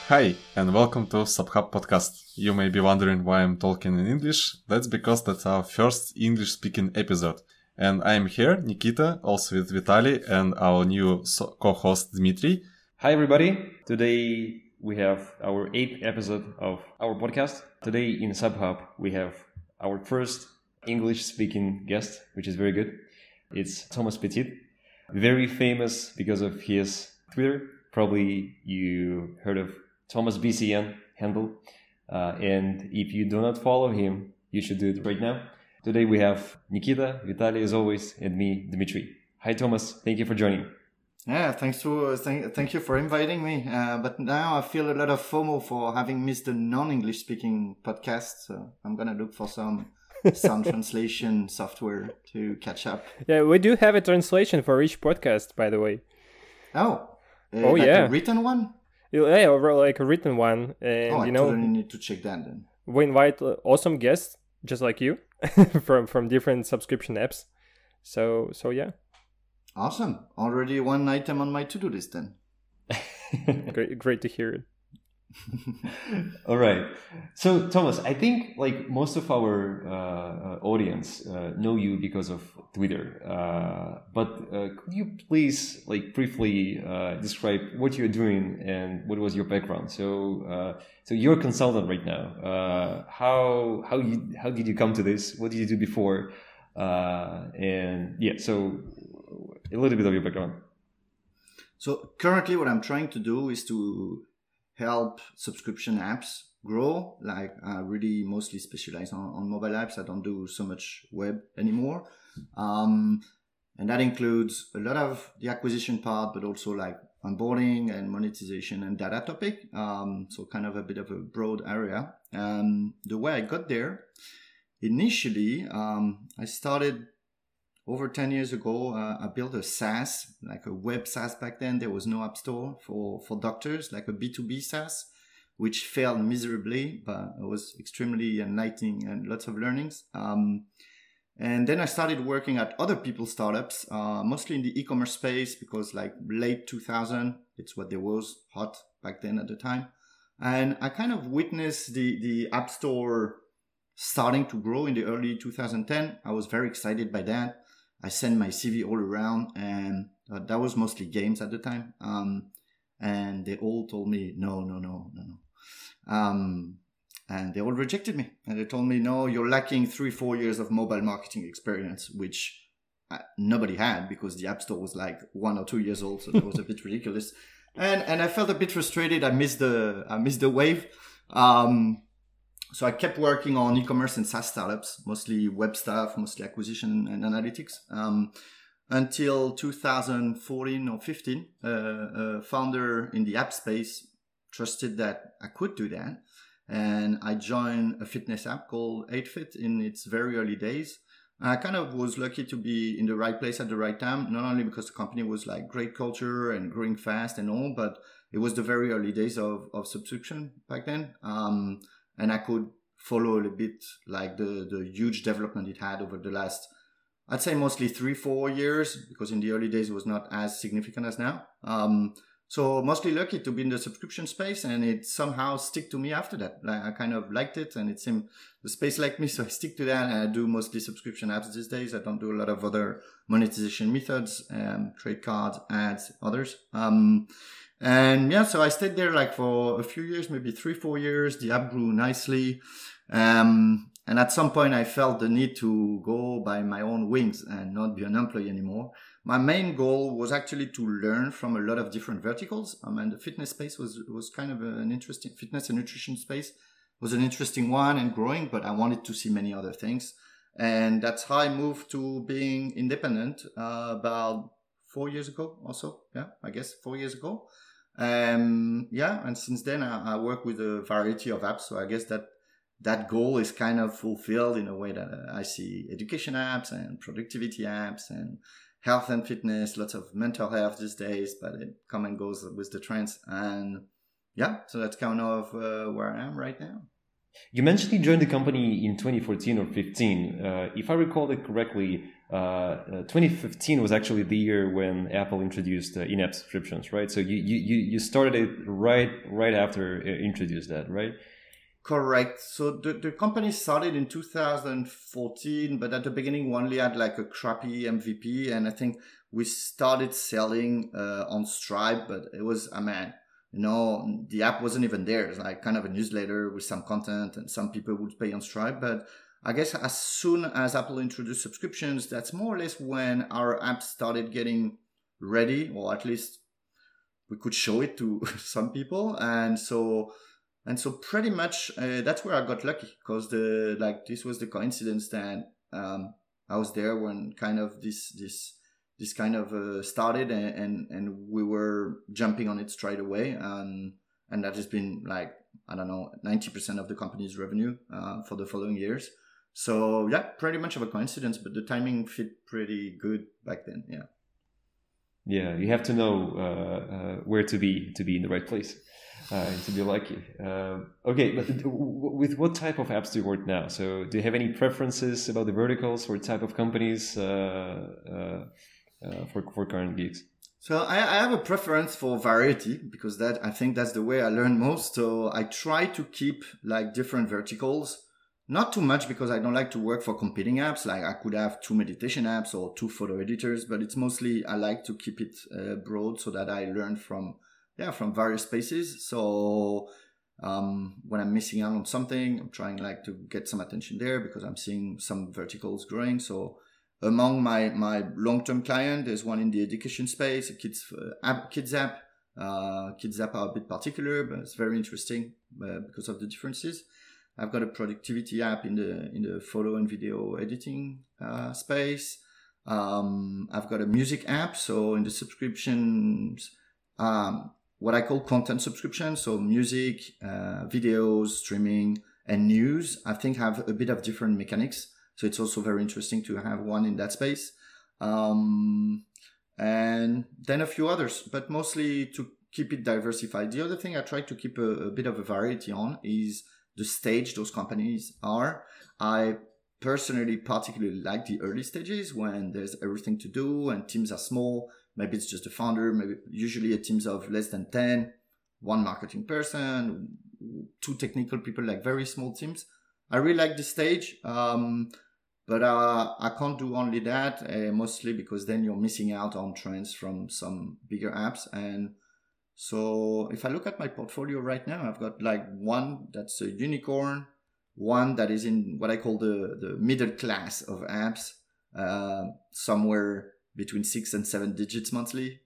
Hi, and welcome to Subhub Podcast. You may be wondering why I'm talking in English. That's because that's our first English-speaking episode. And I'm here, Nikita, also with Vitaly, and our new co-host, Dmitry. Hi, everybody. Today we have our 8th episode of our podcast. Today in Subhub, we have our first English-speaking guest, which is very good. It's Thomas Petit, very famous because of his Twitter. Probably you heard of Thomas BCN handle. And if you do not follow him, you should do it right now. Today we have Nikita, Vitaly as always, and me, Dmitry. Hi, Thomas. Thank you for joining. Yeah, thank you for inviting me. But now I feel a lot of FOMO for having missed the non-English speaking podcast. So I'm going to look for some sound translation software to catch up. Yeah, we do have a translation for each podcast, by the way. Like yeah. A written one? Yeah, or like a written one. And, I totally need to check that then. We invite awesome guests, just like you, from different subscription apps. So yeah. Awesome. Already one item on my to-do list then. Great to hear it. All right. So, Thomas, I think like most of our audience know you because of Twitter. But could you please like briefly describe what you're doing and what was your background? So you're a consultant right now. How did you come to this? What did you do before? And yeah, so a little bit of your background. So currently what I'm trying to do is to help subscription apps grow. Like I really mostly specialize on mobile apps. I don't do so much web anymore. And that includes a lot of the acquisition part, but also like onboarding and monetization and data topic. So kind of a bit of a broad area. The way I got there, initially, I started over 10 years ago. I built a SaaS, like a web SaaS back then. There was no app store for doctors, like a B2B SaaS, which failed miserably, but it was extremely enlightening and lots of learnings. And then I started working at other people's startups, mostly in the e-commerce space, because like late 2000, it's what there was hot back then at the time. And I kind of witnessed the app store starting to grow in the early 2010. I was very excited by that. I sent my CV all around, and that was mostly games at the time. And they all told me, no. And they all rejected me. And they told me, no, you're lacking 3-4 years of mobile marketing experience, which nobody had because the App Store was like 1 or 2 years old. So that was a bit ridiculous. And I felt a bit frustrated. I missed the wave. So I kept working on e-commerce and SaaS startups, mostly web stuff, mostly acquisition and analytics, until 2014 or 15. A founder in the app space trusted that I could do that. And I joined a fitness app called 8Fit in its very early days. I kind of was lucky to be in the right place at the right time, not only because the company was like great culture and growing fast and all, but it was the very early days of subscription back then. And I could follow a little bit like the huge development it had over the last, I'd say mostly 3-4 years, because in the early days it was not as significant as now. So mostly lucky to be in the subscription space, and it somehow stick to me after that. Like I kind of liked it, and it seemed the space liked me, so I stick to that. And I do mostly subscription apps these days. I don't do a lot of other monetization methods, trade cards, ads, others. And yeah, so I stayed there like for a few years, maybe 3-4 years. The app grew nicely. And at some point I felt the need to go by my own wings and not be an employee anymore. My main goal was actually to learn from a lot of different verticals. And the fitness space was kind of an interesting, fitness and nutrition space was an interesting one and growing, but I wanted to see many other things. And that's how I moved to being independent, about 4 years ago or so. Yeah, I guess 4 years ago. And since then I work with a variety of apps. So I guess that goal is kind of fulfilled in a way that I see education apps and productivity apps and health and fitness, lots of mental health these days, but it comes and goes with the trends. And yeah, so that's kind of where I am right now. You mentioned you joined the company in 2014 or 15. If I recall it correctly, 2015 was actually the year when Apple introduced in-app subscriptions, right? So you started it right after it introduced that, right? Correct. So the company started in 2014, but at the beginning we only had like a crappy MVP, and I think we started selling on Stripe, but it was the app wasn't even there. It's like kind of a newsletter with some content, and some people would pay on Stripe. But I guess as soon as Apple introduced subscriptions, that's more or less when our app started getting ready, or at least we could show it to some people. And so pretty much that's where I got lucky, because this was the coincidence that I was there when kind of this kind of started, and we were jumping on it straight away, and that has been 90% of the company's revenue for the following years. So yeah, pretty much of a coincidence, but the timing fit pretty good back then. Yeah, you have to know where to be in the right place. To be lucky. Okay, but with what type of apps do you work now? So do you have any preferences about the verticals or type of companies for current gigs? So I have a preference for variety, because I think that's the way I learn most. So I try to keep different verticals, not too much because I don't like to work for competing apps. Like I could have 2 meditation apps or 2 photo editors, but it's mostly I like to keep it broad so that I learn from various spaces. So when I'm missing out on something, I'm trying to get some attention there because I'm seeing some verticals growing. So among my long-term client, there's one in the education space, a kids app. Kids app are a bit particular, but it's very interesting because of the differences. I've got a productivity app in the photo and video editing space. I've got a music app. So in the subscriptions, what I call content subscription, so music, videos, streaming, and news, I think have a bit of different mechanics. So it's also very interesting to have one in that space. And then a few others, but mostly to keep it diversified. The other thing I try to keep a bit of a variety on is the stage those companies are. I personally particularly like the early stages when there's everything to do and teams are small. Maybe it's just a founder, maybe usually a teams of less than 10, 1 marketing person, 2 technical people, very small teams. I really like this stage, but I can't do only that, mostly because then you're missing out on trends from some bigger apps. And so if I look at my portfolio right now, I've got one that's a unicorn, one that is in what I call the middle class of apps, somewhere between 6 and 7 digits monthly,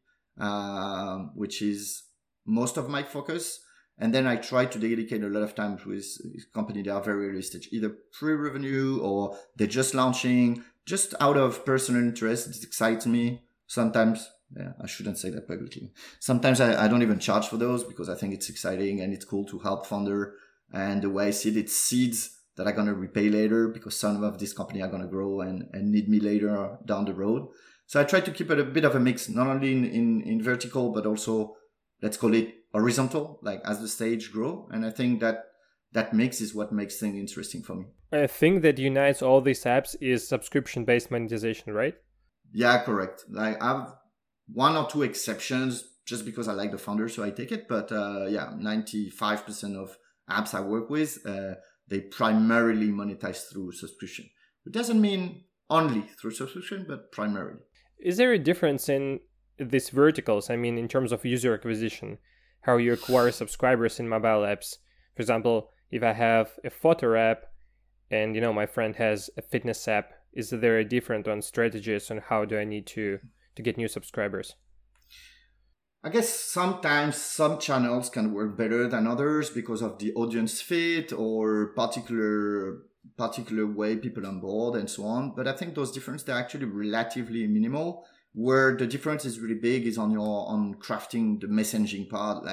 which is most of my focus. And then I try to dedicate a lot of time with companies that are very early stage, either pre-revenue or they're just launching, just out of personal interest. It excites me. Sometimes, I shouldn't say that publicly. Sometimes I don't even charge for those because I think it's exciting and it's cool to help founder. And the way I see it, it's seeds that are going to repay later because some of these companies are going to grow and need me later down the road. So I try to keep it a bit of a mix, not only in vertical, but also, let's call it horizontal, as the stage grow. And I think that mix is what makes things interesting for me. I think that unites all these apps is subscription-based monetization, right? Yeah, correct. I have 1 or 2 exceptions just because I like the founder, so I take it. But 95% of apps I work with, they primarily monetize through subscription. It doesn't mean only through subscription, but primarily. Is there a difference in these verticals? I mean, in terms of user acquisition, how you acquire subscribers in mobile apps? For example, if I have a photo app and, my friend has a fitness app, is there a different on strategies on how do I need to get new subscribers? I guess sometimes some channels can work better than others because of the audience fit or particular way people on board and so on. But I think those differences, they're actually relatively minimal. Where the difference is really big is on crafting the messaging part.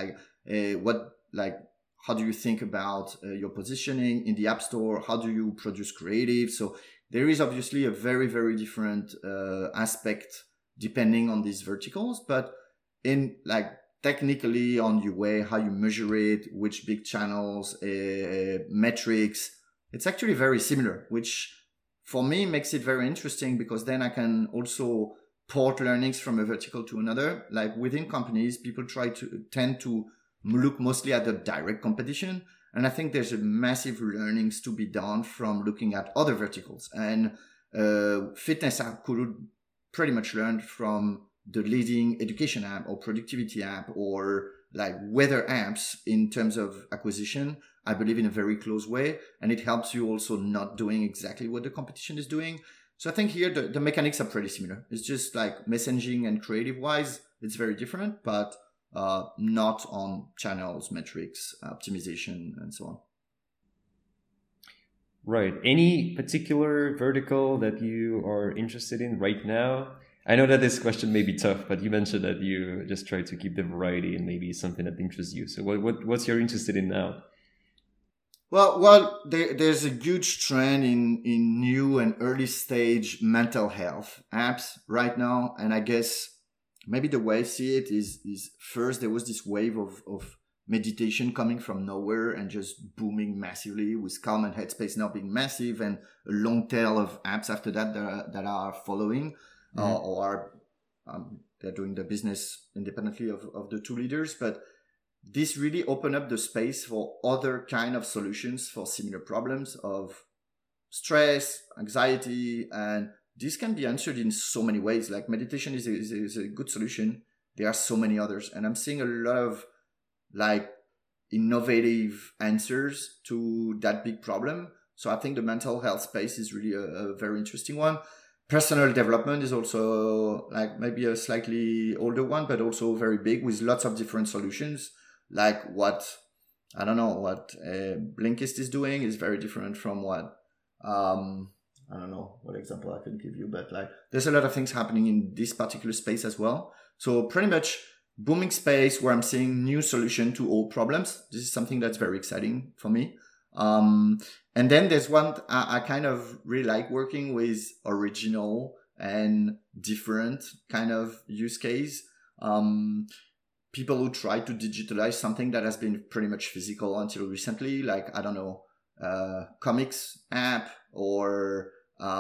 How do you think about your positioning in the App Store? How do you produce creative? So there is obviously a very, very different aspect depending on these verticals. But in technically on UA, how you measure it, which big channels, metrics, it's actually very similar, which for me makes it very interesting because then I can also port learnings from a vertical to another. Like within companies, people tend to look mostly at the direct competition. And I think there's a massive learnings to be done from looking at other verticals. And fitness app could pretty much learn from the leading education app or productivity app or like weather apps in terms of acquisition, I believe in a very close way. And it helps you also not doing exactly what the competition is doing. So I think here the mechanics are pretty similar. It's just like messaging and creative wise, it's very different, but not on channels, metrics, optimization, and so on. Right. Any particular vertical that you are interested in right now? I know that this question may be tough, but you mentioned that you just try to keep the variety and maybe something that interests you. So what's you're interested in now? Well, there's a huge trend in new and early stage mental health apps right now. And I guess maybe the way I see it is first there was this wave of meditation coming from nowhere and just booming massively, with Calm and Headspace now being massive, and a long tail of apps after that that are following, or they're doing the business independently of the two leaders. But this really opened up the space for other kind of solutions for similar problems of stress, anxiety, and this can be answered in so many ways. Like meditation is a good solution. There are so many others. And I'm seeing a lot of like innovative answers to that big problem. So I think the mental health space is really a very interesting one. Personal development is also like maybe a slightly older one, but also very big with lots of different solutions. Like what Blinkist is doing is very different from what, I don't know what example I can give you, but like there's a lot of things happening in this particular space as well. So pretty much booming space where I'm seeing new solution to old problems. This is something that's very exciting for me. And then there's one I kind of really like working with, original and different kind of use case. People who try to digitalize something that has been pretty much physical until recently, like, I don't know, comics app, or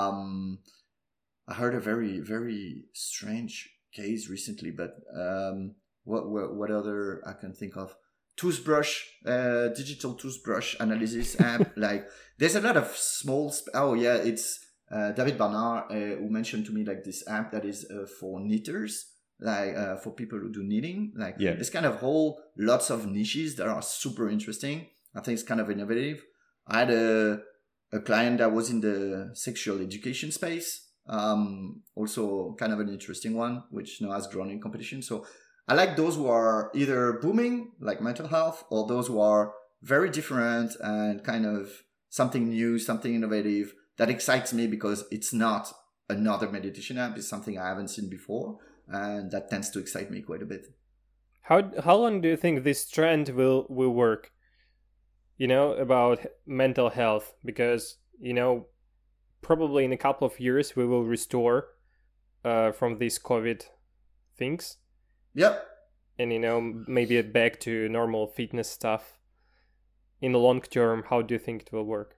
I heard a very, very strange case recently, but what other I can think of? Toothbrush, digital toothbrush analysis app. Like, there's a lot of small. It's David Barnard who mentioned to me like this app that is for knitters, like for people who do knitting. Like, there's kind of lots of niches that are super interesting. I think it's kind of innovative. I had a client that was in the sexual education space, also kind of an interesting one, which now has grown in competition. So I like those who are either booming, like mental health, or those who are very different and kind of something new, something innovative that excites me because it's not another meditation app. It's something I haven't seen before, and that tends to excite me quite a bit. How long do you think this trend will work? About mental health, because probably in a couple of years we will restore from these COVID things. Yep. And maybe back to normal fitness stuff. In the long term, how do you think it will work?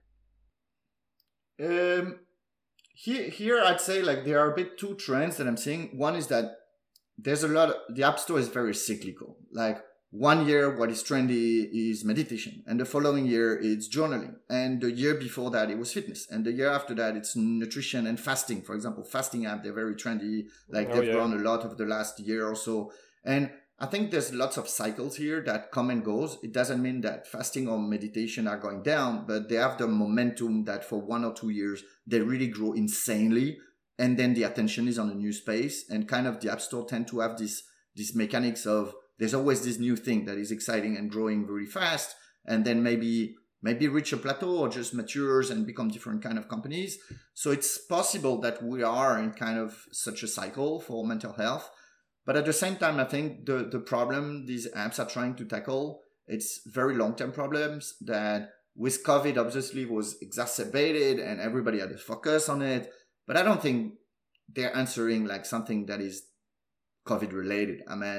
Here I'd say like there are a bit two trends that I'm seeing. One is that there's the App Store is very cyclical. Like, 1 year, what is trendy is meditation. And the following year, it's journaling. And the year before that, it was fitness. And the year after that, it's nutrition and fasting. For example, fasting app, they're very trendy. Like, they've grown a lot over the last year or so. And I think there's lots of cycles here that come and goes. It doesn't mean that fasting or meditation are going down, but they have the momentum that for 1 or 2 years, they really grow insanely. And then the attention is on a new space. And kind of the App Store tend to have this mechanics of, there's always this new thing that is exciting and growing very fast, and then maybe reach a plateau or just matures and become different kind of companies. So it's possible that we are in kind of such a cycle for mental health. But at the same time, I think the problem these apps are trying to tackle, it's very long-term problems that with COVID obviously was exacerbated and everybody had to focus on it. But I don't think they're answering like something that is COVID related. I mean,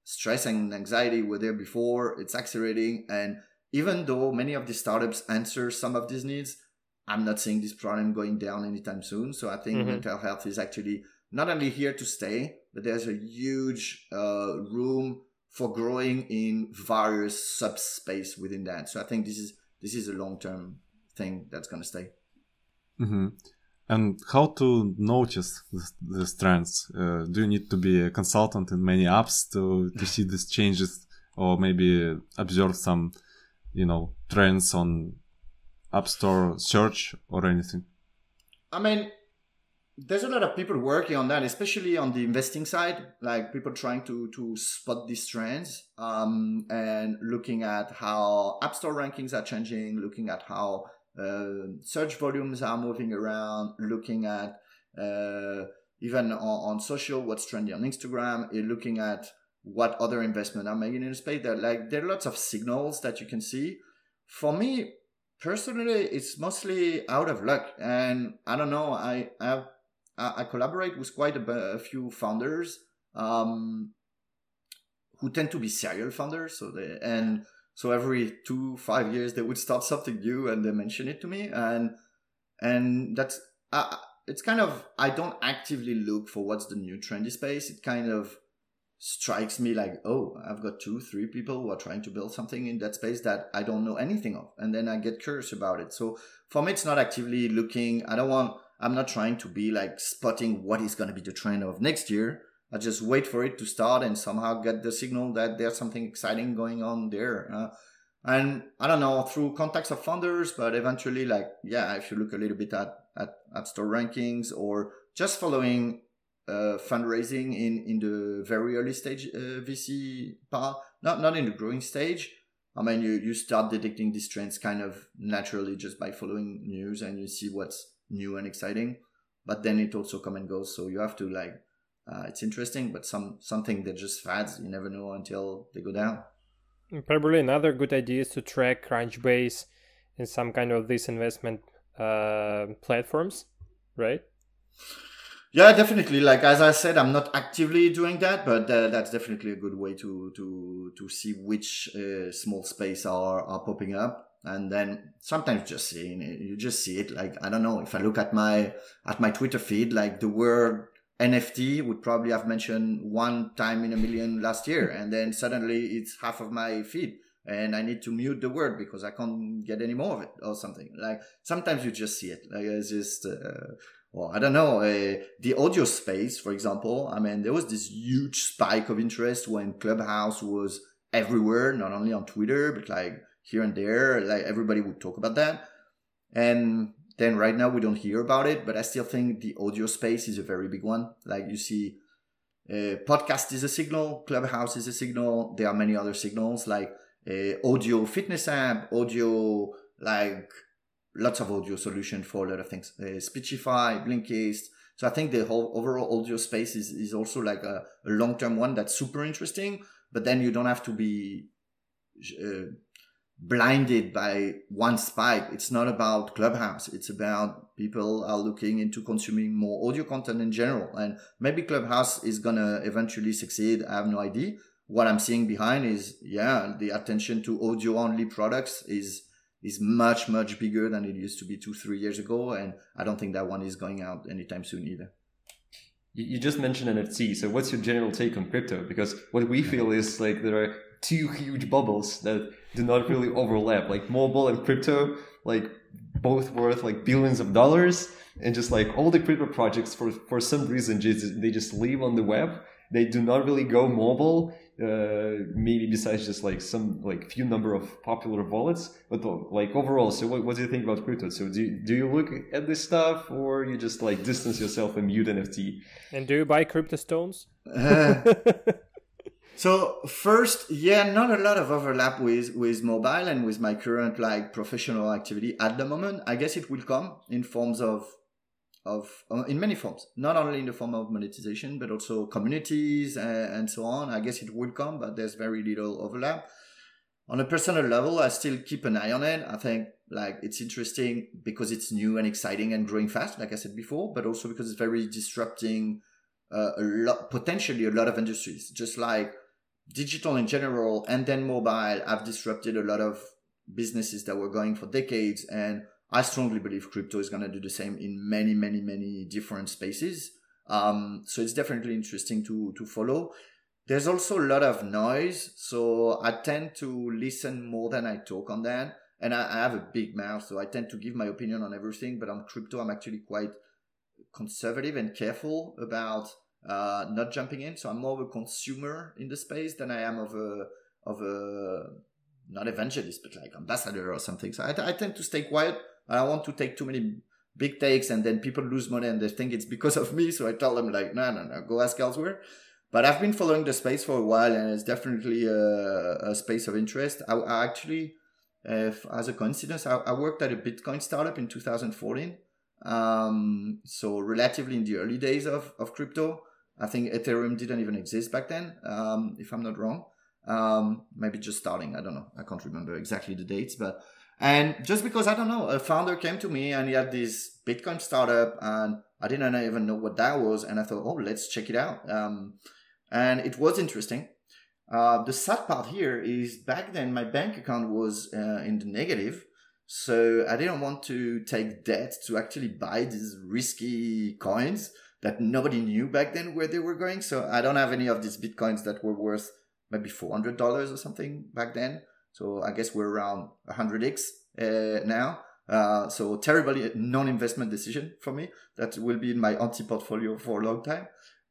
stress and anxiety were there before. It's accelerating. And even though many of the startups answer some of these needs, I'm not seeing this problem going down anytime soon. So I think mental health is actually not only here to stay, but there's a huge room for growing in various subspace within that. So I think this is a long-term thing that's going to stay. Mm-hmm. And how to notice these trends? Do you need to be a consultant in many apps to see these changes, or maybe observe some, trends on App Store search or anything? I mean, there's a lot of people working on that, especially on the investing side, like people trying to spot these trends, and looking at how App Store rankings are changing, looking at how search volumes are moving around, looking at even on social, what's trendy on Instagram, looking at what other investment are making in the space. There are lots of signals that you can see. For me, personally, it's mostly out of luck. And I don't know, I collaborate with quite a few founders who tend to be serial founders. So every 2-5 years they would start something new and they mention it to me. And that's it's kind of, I don't actively look for what's the new trendy space. It kind of strikes me like, oh, I've got 2-3 people who are trying to build something in that space that I don't know anything of. And then I get curious about it. So for me, it's not actively looking. I'm not trying to be like spotting what is going to be the trend of next year. I just wait for it to start and somehow get the signal that there's something exciting going on there. And I don't know, through contacts of founders, but eventually, if you look a little bit at App Store rankings or just following fundraising in the very early stage VC part, not in the growing stage. I mean, you start detecting these trends kind of naturally just by following news, and you see what's new and exciting. But then it also come and goes, so you have to it's interesting, but something that just fads. You never know until they go down. Probably another good idea is to track Crunchbase in some kind of these investment platforms, right? Yeah, definitely. Like as I said, I'm not actively doing that, but that's definitely a good way to see which small space are popping up. And then sometimes you just see it. Like, I don't know, if I look at my Twitter feed, like the word NFT would probably have mentioned 1 time in a million last year, and then suddenly it's half of my feed, and I need to mute the word because I can't get any more of it or something. Like sometimes you just see it. Like it's just, I don't know. The audio space, for example. I mean, there was this huge spike of interest when Clubhouse was everywhere, not only on Twitter but like here and there. Like everybody would talk about that, and then right now we don't hear about it, but I still think the audio space is a very big one. Like you see, podcast is a signal, Clubhouse is a signal. There are many other signals like audio fitness app, audio, like lots of audio solution for a lot of things. Speechify, Blinkist. So I think the whole overall audio space is also like a long-term one that's super interesting, but then you don't have to be blinded by one spike. It's not about Clubhouse. It's about people are looking into consuming more audio content in general. And maybe Clubhouse is going to eventually succeed. I have no idea. What I'm seeing behind is, the attention to audio only products is much, much bigger than it used to be 2-3 years ago. And I don't think that one is going out anytime soon either. You just mentioned NFT. So what's your general take on crypto? Because what we feel is like there are 2 huge bubbles that do not really overlap, like mobile and crypto, like both worth like billions of dollars, and just like all the crypto projects for some reason they just live on the web. They do not really go mobile, maybe besides just like some like few number of popular wallets, but like overall. So what do you think about crypto? So do you look at this stuff, or you just like distance yourself and mute NFT? And do you buy crypto stones? So first, not a lot of overlap with mobile and with my current like professional activity at the moment. I guess it will come in forms of in many forms, not only in the form of monetization, but also communities and so on. I guess it will come, but there's very little overlap. On a personal level, I still keep an eye on it. I think like it's interesting because it's new and exciting and growing fast, like I said before, but also because it's very disrupting potentially a lot of industries. Just like digital in general and then mobile have disrupted a lot of businesses that were going for decades. And I strongly believe crypto is going to do the same in many, many, many different spaces. So it's definitely interesting to follow. There's also a lot of noise. So I tend to listen more than I talk on that. And I have a big mouth, so I tend to give my opinion on everything. But on crypto, I'm actually quite conservative and careful about not jumping in. So I'm more of a consumer in the space than I am of a not evangelist, but like ambassador or something. So I tend to stay quiet. I don't want to take too many big takes and then people lose money and they think it's because of me. So I tell them like, no, go ask elsewhere. But I've been following the space for a while and it's definitely a space of interest. I actually, as a coincidence, I worked at a Bitcoin startup in 2014. So relatively in the early days of crypto. I think Ethereum didn't even exist back then, if I'm not wrong. Maybe just starting. I don't know. I can't remember exactly the dates, and just because I don't know, a founder came to me and he had this Bitcoin startup and I didn't even know what that was. And I thought, oh, let's check it out. And it was interesting. The sad part here is back then my bank account was in the negative. So I didn't want to take debt to actually buy these risky coins that nobody knew back then where they were going. So I don't have any of these Bitcoins that were worth maybe $400 or something back then. So I guess we're around 100x now. So terribly non-investment decision for me. That will be in my anti-portfolio for a long time.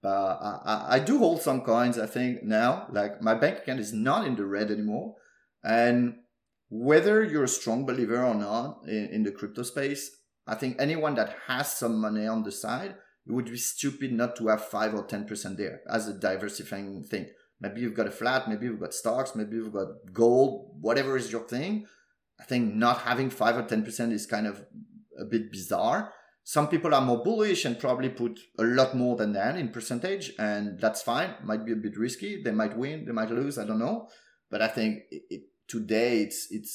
I do hold some coins, I think, now. Like my bank account is not in the red anymore. And whether you're a strong believer or not in the crypto space, I think anyone that has some money on the side, it would be stupid not to have 5 or 10% there as a diversifying thing. Maybe you've got a flat, maybe you've got stocks, maybe you've got gold, whatever is your thing. I think not having 5 or 10% is kind of a bit bizarre. Some people are more bullish and probably put a lot more than that in percentage, and that's fine. Might be a bit risky. They might win, they might lose, I don't know. But I think today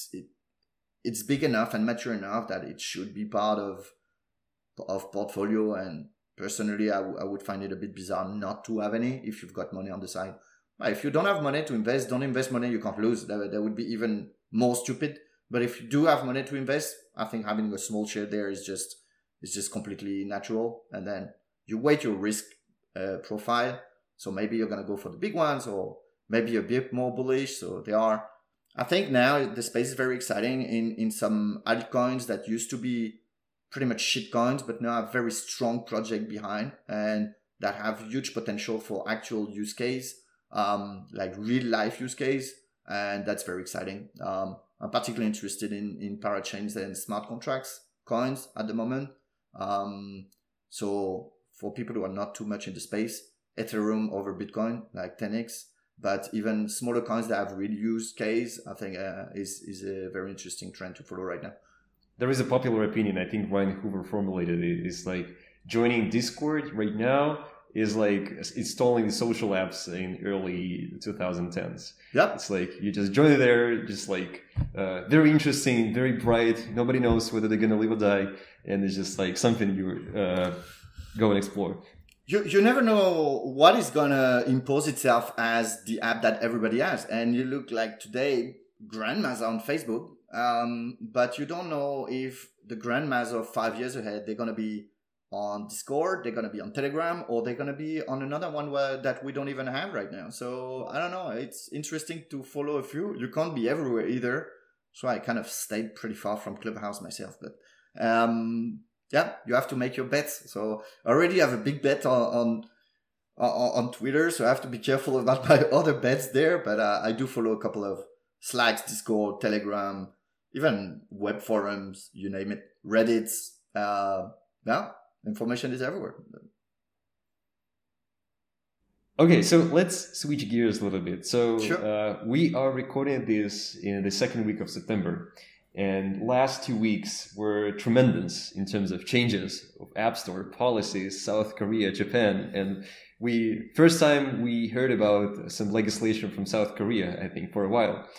it's big enough and mature enough that it should be part of portfolio. And personally, I would find it a bit bizarre not to have any if you've got money on the side. If you don't have money to invest, don't invest money you can't lose. That would be even more stupid. But if you do have money to invest, I think having a small share there is just completely natural. And then you weight your risk profile. So maybe you're going to go for the big ones, or maybe a bit more bullish. So I think now the space is very exciting in some altcoins that used to be pretty much shit coins, but now have very strong project behind and that have huge potential for actual use case, like real life use case. And that's very exciting. I'm particularly interested in parachains and smart contracts coins at the moment. So for people who are not too much in the space, Ethereum over Bitcoin, like 10x, but even smaller coins that have real use case, I think is a very interesting trend to follow right now. There is a popular opinion, I think Ryan Hoover formulated it, is like joining Discord right now is like installing the social apps in early 2010s. Yeah. It's like you just join it there, just like very interesting, very bright. Nobody knows whether they're going to live or die. And it's just like something you go and explore. You never know what is going to impose itself as the app that everybody has. And you look like today, grandmas on Facebook, but you don't know if the grandmas of 5 years ahead, they're going to be on Discord, they're going to be on Telegram, or they're going to be on another one that we don't even have right now. So I don't know. It's interesting to follow a few. You can't be everywhere either. So I kind of stayed pretty far from Clubhouse myself. But yeah, you have to make your bets. So I already have a big bet on Twitter, so I have to be careful about my other bets there. But I do follow a couple of Slacks, Discord, Telegram, even web forums, you name it, Reddits. Yeah, information is everywhere. Okay, so let's switch gears a little bit. So Sure. We are recording this in the second week of September. And last 2 weeks were tremendous in terms of changes of App Store policies, South Korea, Japan. And first time we heard about some legislation from South Korea, I think, for a while.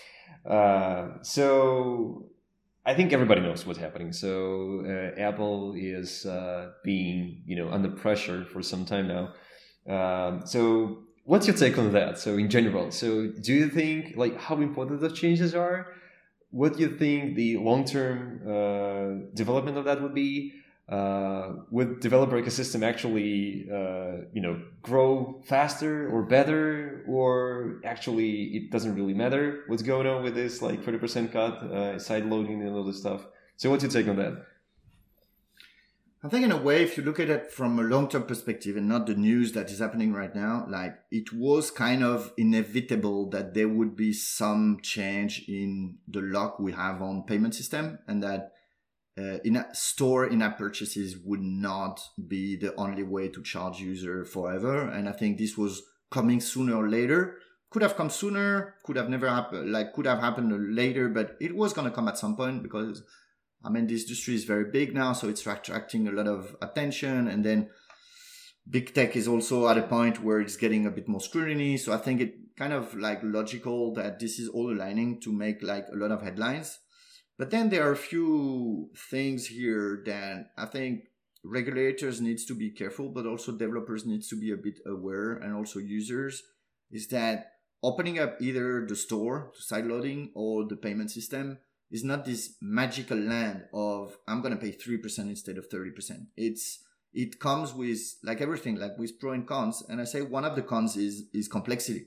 So I think everybody knows what's happening. So Apple is being, under pressure for some time now. So what's your take on that? So in general, so do you think like how important those changes are? What do you think the long-term development of that would be? Would developer ecosystem actually, grow faster or better, or actually it doesn't really matter what's going on with this like 30% cut, side loading and all this stuff? So what's your take on that? I think in a way, if you look at it from a long-term perspective and not the news that is happening right now, like it was kind of inevitable that there would be some change in the lock we have on payment system, and that in-app purchases would not be the only way to charge user forever. And I think this was coming sooner or later. Could have come sooner, could have never happened, could have happened later, but it was going to come at some point because this industry is very big now, so it's attracting a lot of attention. And then big tech is also at a point where it's getting a bit more scrutiny. So I think it kind of logical that this is all aligning to make a lot of headlines. But then there are a few things here that I think regulators needs to be careful, but also developers needs to be a bit aware, and also users, is that opening up either the store to sideloading or the payment system is not this magical land of I'm going to pay 3% instead of 30%. It comes with everything, with pro and cons. And I say one of the cons is complexity.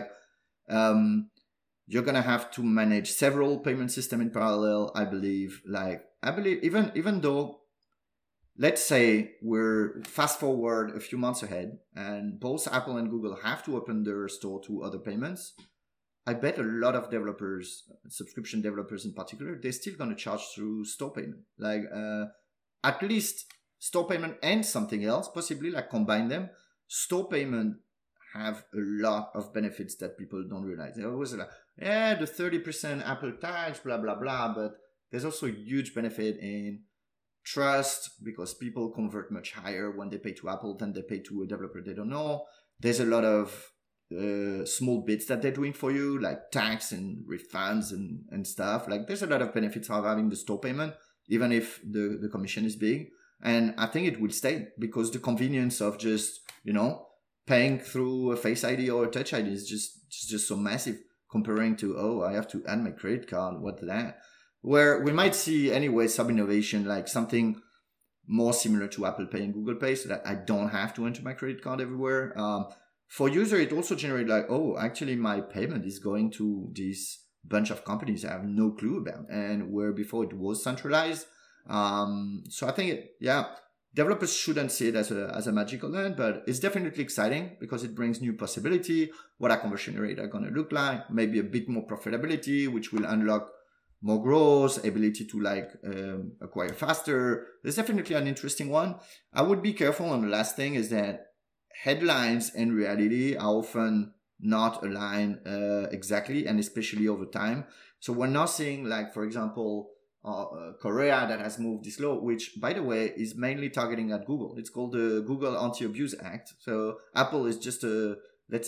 You're going to have to manage several payment systems in parallel, I believe. Even though, let's say we're fast forward a few months ahead and both Apple and Google have to open their store to other payments, I bet a lot of developers, subscription developers in particular, they're still going to charge through store payment. At least store payment and something else, possibly combine them. Store payment have a lot of benefits that people don't realize. They're always the 30% Apple tax, blah, blah, blah. But there's also a huge benefit in trust, because people convert much higher when they pay to Apple than they pay to a developer they don't know. There's a lot of small bits that they're doing for you, like tax and refunds and stuff. There's a lot of benefits of having the store payment, even if the commission is big. And I think it will stay, because the convenience of just paying through a Face ID or a Touch ID is just so massive comparing to I have to add my credit card. What's that? Where we might see anyway some innovation, like something more similar to Apple Pay and Google Pay, so that I don't have to enter my credit card everywhere. For user, it also generates actually my payment is going to this bunch of companies I have no clue about, and where before it was centralized. So I think, developers shouldn't see it as a magical land, but it's definitely exciting because it brings new possibility. What our conversion rate are going to look like, maybe a bit more profitability, which will unlock more growth, ability to acquire faster. There's definitely an interesting one. I would be careful on the last thing is that headlines and reality are often not aligned exactly, and especially over time. So we're not seeing for example, Korea that has moved this law, which by the way is mainly targeting at Google. It's called the Google Anti-Abuse Act. So Apple is just a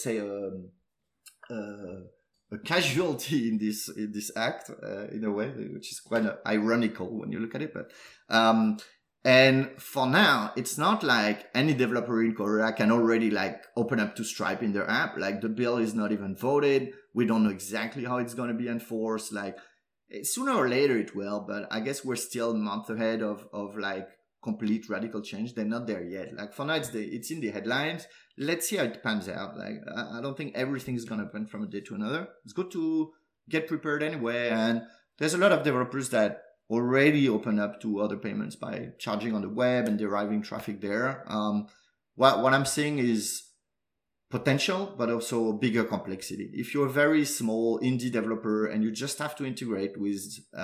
casualty in this act in a way, which is quite ironical when you look at it. But and for now, it's not like any developer in Korea can already open up to Stripe in their app. The bill is not even voted. We don't know exactly how it's going to be enforced. Sooner or later it will, but I guess we're still a month ahead of complete radical change. They're not there yet. For now, it's in the headlines. Let's see how it pans out. I don't think everything is going to happen from a day to another. It's good to get prepared anyway. And there's a lot of developers that already open up to other payments by charging on the web and deriving traffic there. What I'm seeing is potential, but also bigger complexity. If you're a very small indie developer and you just have to integrate with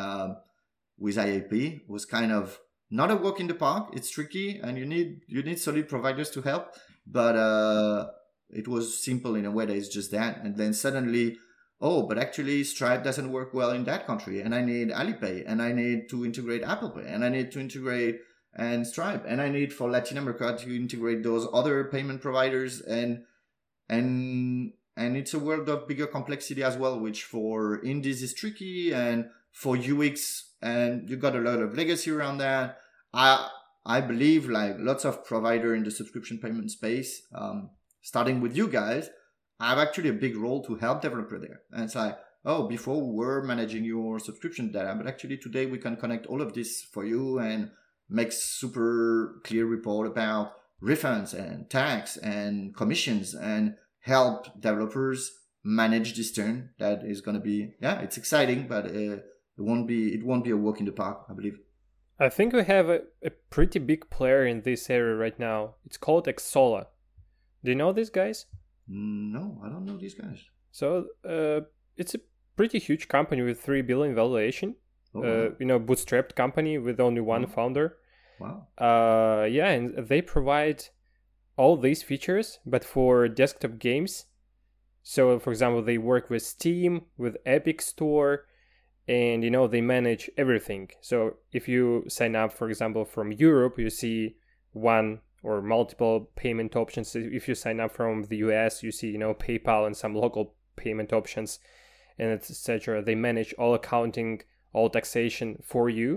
IAP, was kind of not a walk in the park. It's tricky, and you need solid providers to help. But it was simple in a way that it's just that, and then suddenly, but actually Stripe doesn't work well in that country, and I need Alipay, and I need to integrate Apple Pay, and I need to integrate and Stripe, and I need for Latin America to integrate those other payment providers, and it's a world of bigger complexity as well, which for indies is tricky, and for UX, and you got a lot of legacy around that. I believe lots of provider in the subscription payment space, starting with you guys, I have actually a big role to help developer there. And it's like, oh, before we were managing your subscription data, but actually today we can connect all of this for you and make super clear report about refunds and tax and commissions and help developers manage this turn. That is going to be, it's exciting, but it won't be a walk in the park, I believe. I think we have a pretty big player in this area right now. It's called Xsolla. Do you know these guys? No, I don't know these guys. So it's a pretty huge company with 3 billion valuation. Oh, wow. Bootstrapped company with only one founder. Wow. And they provide all these features, but for desktop games. So, for example, they work with Steam, with Epic Store, and they manage everything. So if you sign up, for example, from Europe, you see one or multiple payment options. If you sign up from the US, you see PayPal and some local payment options, and etc. They manage all accounting, all taxation for you.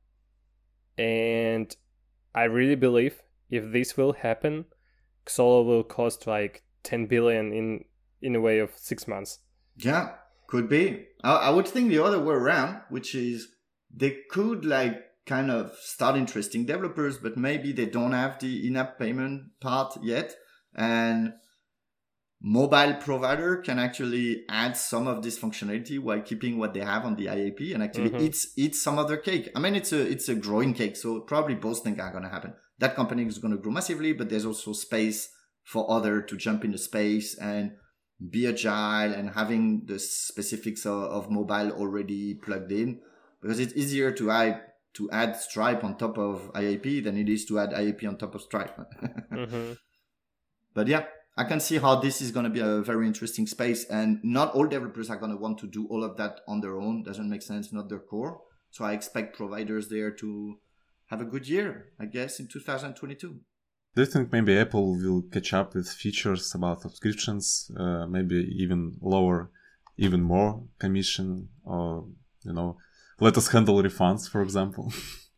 And I really believe if this will happen, Xsolla will cost like 10 billion in a way of 6 months. Yeah, could be. I would think the other way around, which is they could kind of start interesting developers, but maybe they don't have the in-app payment part yet. And mobile provider can actually add some of this functionality while keeping what they have on the IAP and actually eat some of their cake. I mean, it's a growing cake, so probably both things are going to happen. That company is going to grow massively, but there's also space for other to jump in the space and be agile and having the specifics of mobile already plugged in, because it's easier to add Stripe on top of IAP than it is to add IAP on top of Stripe. But yeah, I can see how this is going to be a very interesting space, and not all developers are going to want to do all of that on their own. Doesn't make sense, not their core. So I expect providers there to have a good year, I guess, in 2022. Do you think maybe Apple will catch up with features about subscriptions, maybe even lower even more commission, or let us handle refunds, for example?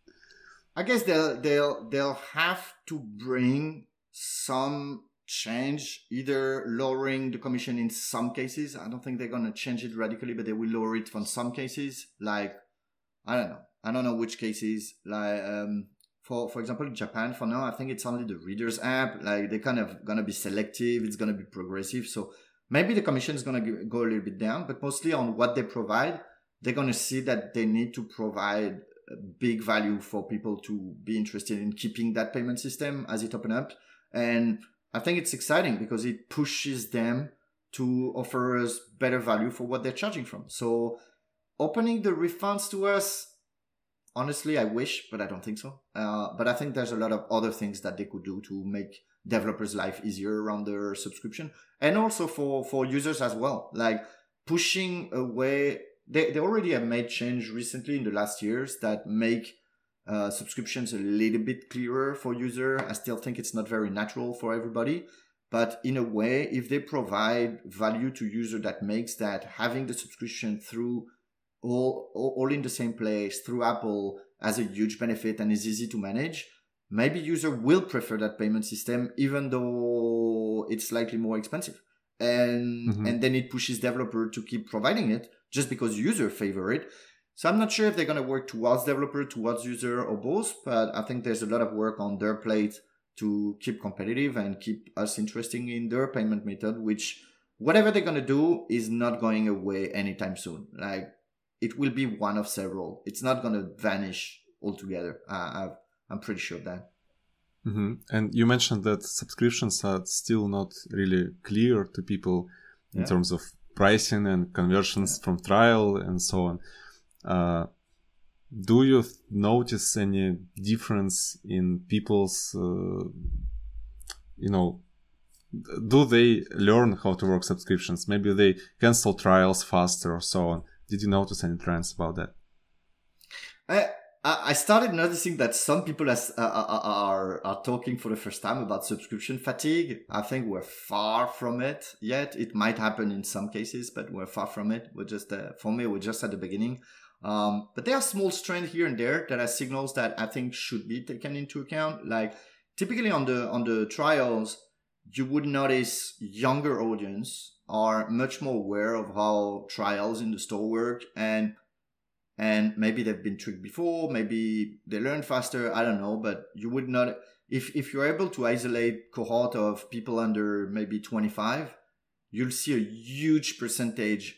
I guess they'll have to bring some change, either lowering the commission in some cases. I don't think they're going to change it radically, but they will lower it for some cases. Like, I don't know which cases. Like, for example, in Japan, for now, I think it's only the Readers app. Like, they're kind of going to be selective. It's going to be progressive. So maybe the commission is going to go a little bit down, but mostly on what they provide, they're going to see that they need to provide a big value for people to be interested in keeping that payment system as it opens up. And I think it's exciting because it pushes them to offer us better value for what they're charging from. So opening the refunds to us, honestly, I wish, but I don't think so. But I think there's a lot of other things that they could do to make developers' life easier around their subscription. And also for users as well, like pushing away. They already have made change recently in the last years that make subscriptions a little bit clearer for user. I still think it's not very natural for everybody, but in a way, if they provide value to user that makes that having the subscription through all in the same place through Apple as a huge benefit and is easy to manage, maybe user will prefer that payment system even though it's slightly more expensive. And then it pushes developer to keep providing it just because user favor it. So I'm not sure if they're going to work towards developer, towards user, or both, but I think there's a lot of work on their plate to keep competitive and keep us interesting in their payment method, which whatever they're going to do is not going away anytime soon. Like, it will be one of several. It's not going to vanish altogether. I'm pretty sure of that. And you mentioned that subscriptions are still not really clear to people in terms of pricing and conversions from trial and so on. Do you notice any difference in people's, do they learn how to work subscriptions? Maybe they cancel trials faster or so on. Did you notice any trends about that? I started noticing that some people are talking for the first time about subscription fatigue. I think we're far from it yet. It might happen in some cases, but we're far from it. We're just, for me, we're just at the beginning. But there are small strands here and there that are signals that I think should be taken into account. Like typically on the trials, you would notice younger audience are much more aware of how trials in the store work, and maybe they've been tricked before, maybe they learn faster, I don't know, but you would not, if you're able to isolate cohort of people under maybe 25, you'll see a huge percentage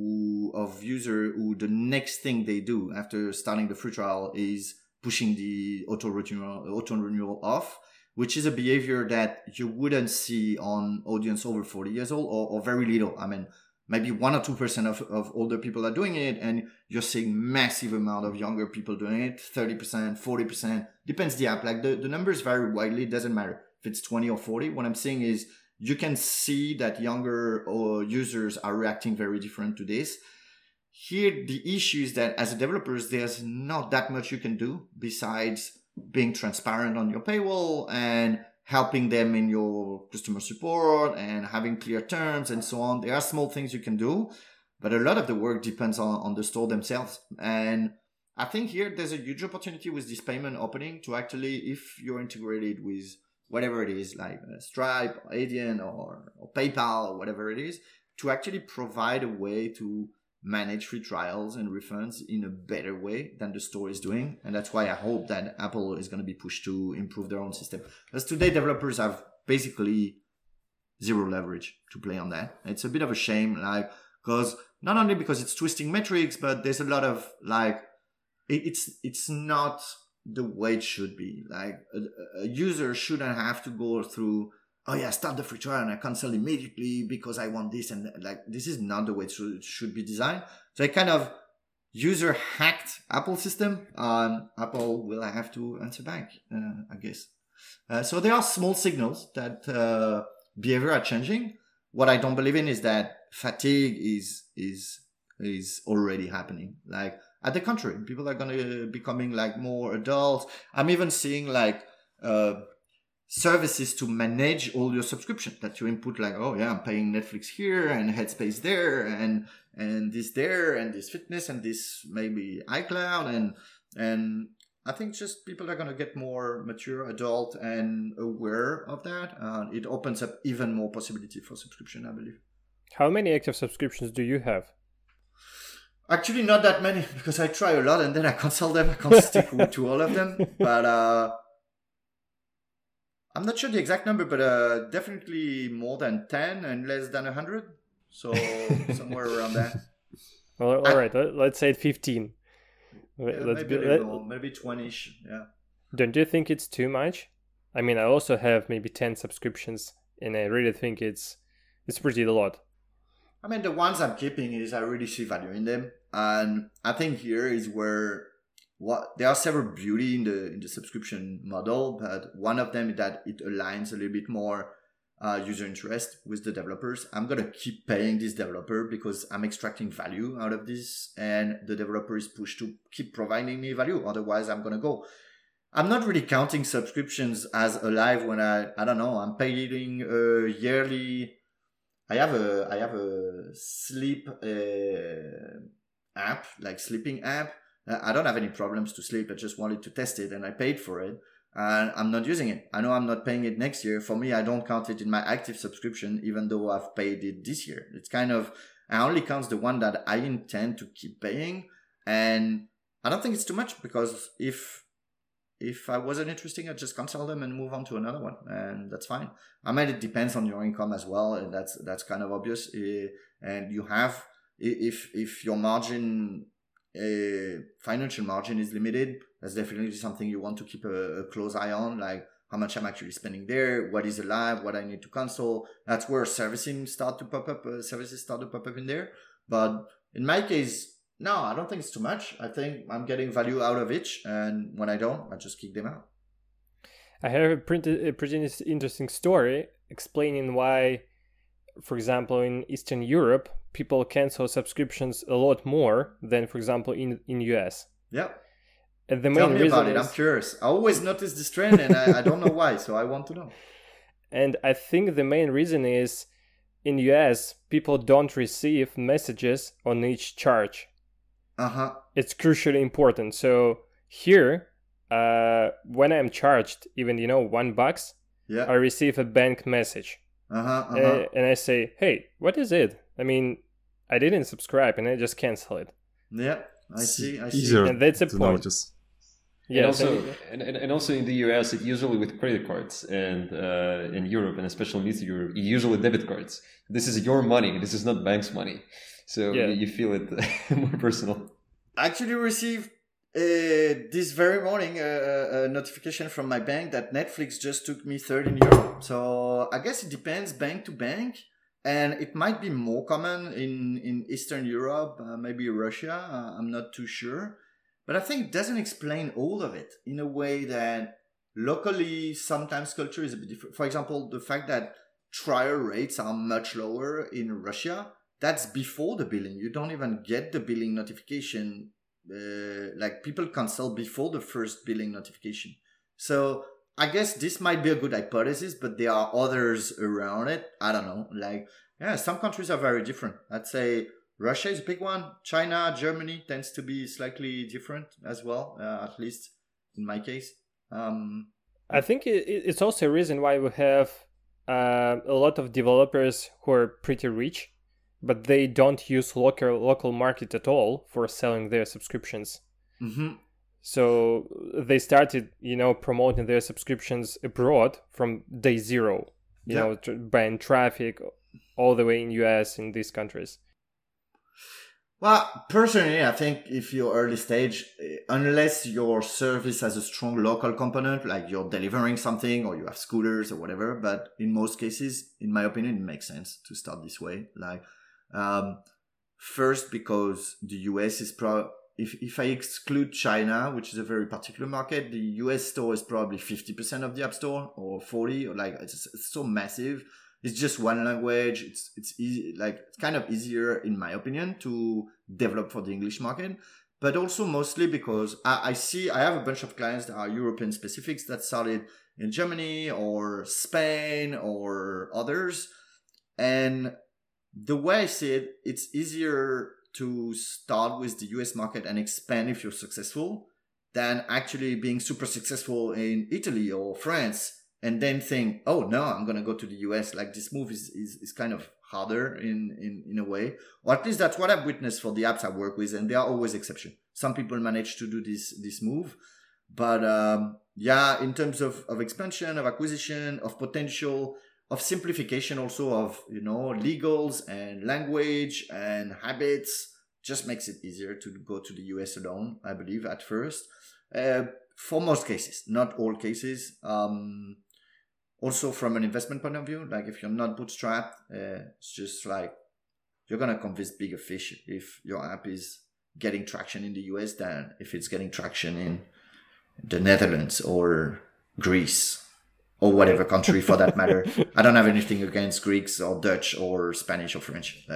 of user who the next thing they do after starting the free trial is pushing the auto renewal off, which is a behavior that you wouldn't see on audience over 40 years old, or very little. I mean, maybe 1 or 2% of older people are doing it, and you're seeing massive amount of younger people doing it, 30%, 40%, depends the app. Like the numbers vary widely, it doesn't matter if it's 20 or 40. What I'm saying is you can see that younger users are reacting very different to this. Here, the issue is that as a developers, there's not that much you can do besides being transparent on your paywall and helping them in your customer support and having clear terms and so on. There are small things you can do, but a lot of the work depends on the store themselves. And I think here there's a huge opportunity with this payment opening to actually, if you're integrated with whatever it is, like Stripe, or Adyen, or PayPal, or whatever it is, to actually provide a way to manage free trials and refunds in a better way than the store is doing. And that's why I hope that Apple is going to be pushed to improve their own system. Because today developers have basically zero leverage to play on that. It's a bit of a shame, like, because not only because it's twisting metrics, but there's a lot of like, it's not the way it should be. Like a user shouldn't have to go through, oh yeah, start the free trial and I cancel immediately because I want this. And like, this is not the way it should be designed. So I kind of user hacked Apple system. Apple will have to answer back, I guess. So there are small signals that behavior are changing. What I don't believe in is that fatigue is already happening. Like at the contrary, people are going to becoming like more adult. I'm even seeing like services to manage all your subscription that you input, like, oh yeah, I'm paying Netflix here and Headspace there and this there and this fitness and this maybe iCloud and I think just people are going to get more mature, adult and aware of that. It opens up even more possibility for subscription, I believe. How many active subscriptions do you have? Actually, not that many, because I try a lot and then I cancel them. I can't stick to all of them. But I'm not sure the exact number, but definitely more than 10 and less than 100. So somewhere around that. Well, all right. Let's say 15. Maybe 20-ish. Yeah. Don't you think it's too much? I mean, I also have maybe 10 subscriptions, and I really think it's pretty a lot. I mean, the ones I'm keeping is I really see value in them, and I think here is where there are several beauty in the subscription model, but one of them is that it aligns a little bit more user interest with the developers. I'm gonna keep paying this developer because I'm extracting value out of this, and the developer is pushed to keep providing me value. Otherwise, I'm gonna go. I'm not really counting subscriptions as alive when I don't know. I'm paying a yearly. I have a sleep app, like sleeping app. I don't have any problems to sleep. I just wanted to test it and I paid for it and I'm not using it. I know I'm not paying it next year. For me, I don't count it in my active subscription, even though I've paid it this year. It's kind of, I only count the one that I intend to keep paying. And I don't think it's too much, because if I wasn't interesting, I'd just cancel them and move on to another one, and that's fine. I mean, it depends on your income as well, and that's kind of obvious. And you have, if your margin, financial margin is limited, that's definitely something you want to keep a close eye on, like how much I'm actually spending there, what is alive, what I need to cancel. That's where services start to pop up in there. But in my case, no, I don't think it's too much. I think I'm getting value out of it, and when I don't, I just kick them out. I have a pretty interesting story explaining why, for example, in Eastern Europe, people cancel subscriptions a lot more than, for example, in US. Yeah. And the Tell main me reason about it. I'm curious. I always notice this trend, and I don't know why, so I want to know. And I think the main reason is, in US, people don't receive messages on each charge. Uh-huh. It's crucially important. So here, when I'm charged even, $1, Yeah. I receive a bank message. And I say, hey, what is it? I mean, I didn't subscribe and I just cancel it. Yeah, I see. Easier and that's a to point. notice. Yeah, and also in the US, it usually with credit cards, and in Europe, and especially in Eastern Europe, usually debit cards. This is your money. This is not bank's money, so you feel it more personal. I actually received this very morning a notification from my bank that Netflix just took me €13. So I guess it depends bank to bank, and it might be more common in Eastern Europe, maybe Russia. I'm not too sure. But I think it doesn't explain all of it in a way that locally sometimes culture is a bit different. For example, the fact that trial rates are much lower in Russia, that's before the billing. You don't even get the billing notification. Like people cancel before the first billing notification. So I guess this might be a good hypothesis, but there are others around it. I don't know. Like, yeah, some countries are very different. I'd say Russia is a big one. China, Germany tends to be slightly different as well, at least in my case. I think it's also a reason why we have a lot of developers who are pretty rich, but they don't use local market at all for selling their subscriptions. Mm-hmm. So they started, promoting their subscriptions abroad from day zero, buying traffic all the way in US, in these countries. Well, personally, I think if you're early stage, unless your service has a strong local component, like you're delivering something or you have scooters or whatever, but in most cases, in my opinion, it makes sense to start this way. Like, first, because the US is if I exclude China, which is a very particular market, the US store is probably 50% of the App Store or 40, or like it's so massive. It's just one language. It's easy, like it's kind of easier, in my opinion, to develop for the English market. But also mostly because I have a bunch of clients that are European specifics that started in Germany or Spain or others. And the way I see it, it's easier to start with the US market and expand if you're successful than actually being super successful in Italy or France and then think, oh no, I'm going to go to the US. Like this move is kind of harder in a way, or at least that's what I've witnessed for the apps I work with. And there are always exceptions. Some people manage to do this move, but in terms of expansion, of acquisition, of potential, of simplification, also of, legals and language and habits, just makes it easier to go to the US alone, I believe, at first. For most cases, not all cases. Also from an investment point of view, like if you're not bootstrapped, it's just like you're going to convince bigger fish if your app is getting traction in the US than if it's getting traction in the Netherlands or Greece or whatever country for that matter. I don't have anything against Greeks or Dutch or Spanish or French.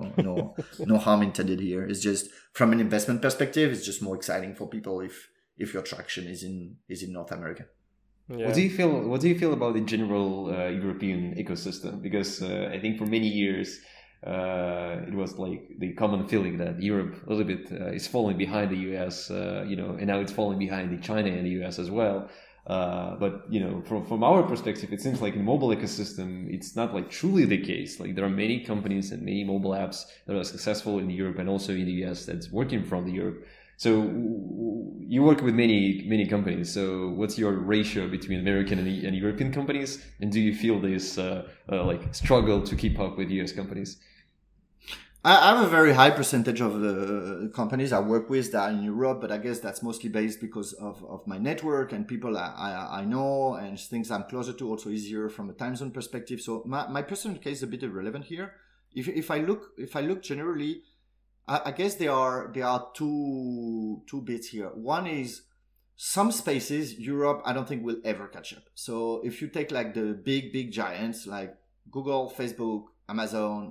No harm intended here. It's just from an investment perspective, it's just more exciting for people if your traction is in North America. Yeah. What do you feel about the general European ecosystem? Because I think for many years it was like the common feeling that Europe a little bit is falling behind the US, and now it's falling behind the China and the US as well. But from our perspective, it seems like in mobile ecosystem, it's not like truly the case. Like there are many companies and many mobile apps that are successful in Europe and also in the US that's working from the Europe. So you work with many companies. So what's your ratio between American and European companies? And do you feel this like struggle to keep up with US companies? I have a very high percentage of the companies I work with that are in Europe, but I guess that's mostly based because of my network and people I know and things I'm closer to, also easier from a time zone perspective. So my personal case is a bit irrelevant here. If I look generally, I guess there are two bits here. One is some spaces Europe I don't think will ever catch up. So if you take like the big giants like Google, Facebook, Amazon,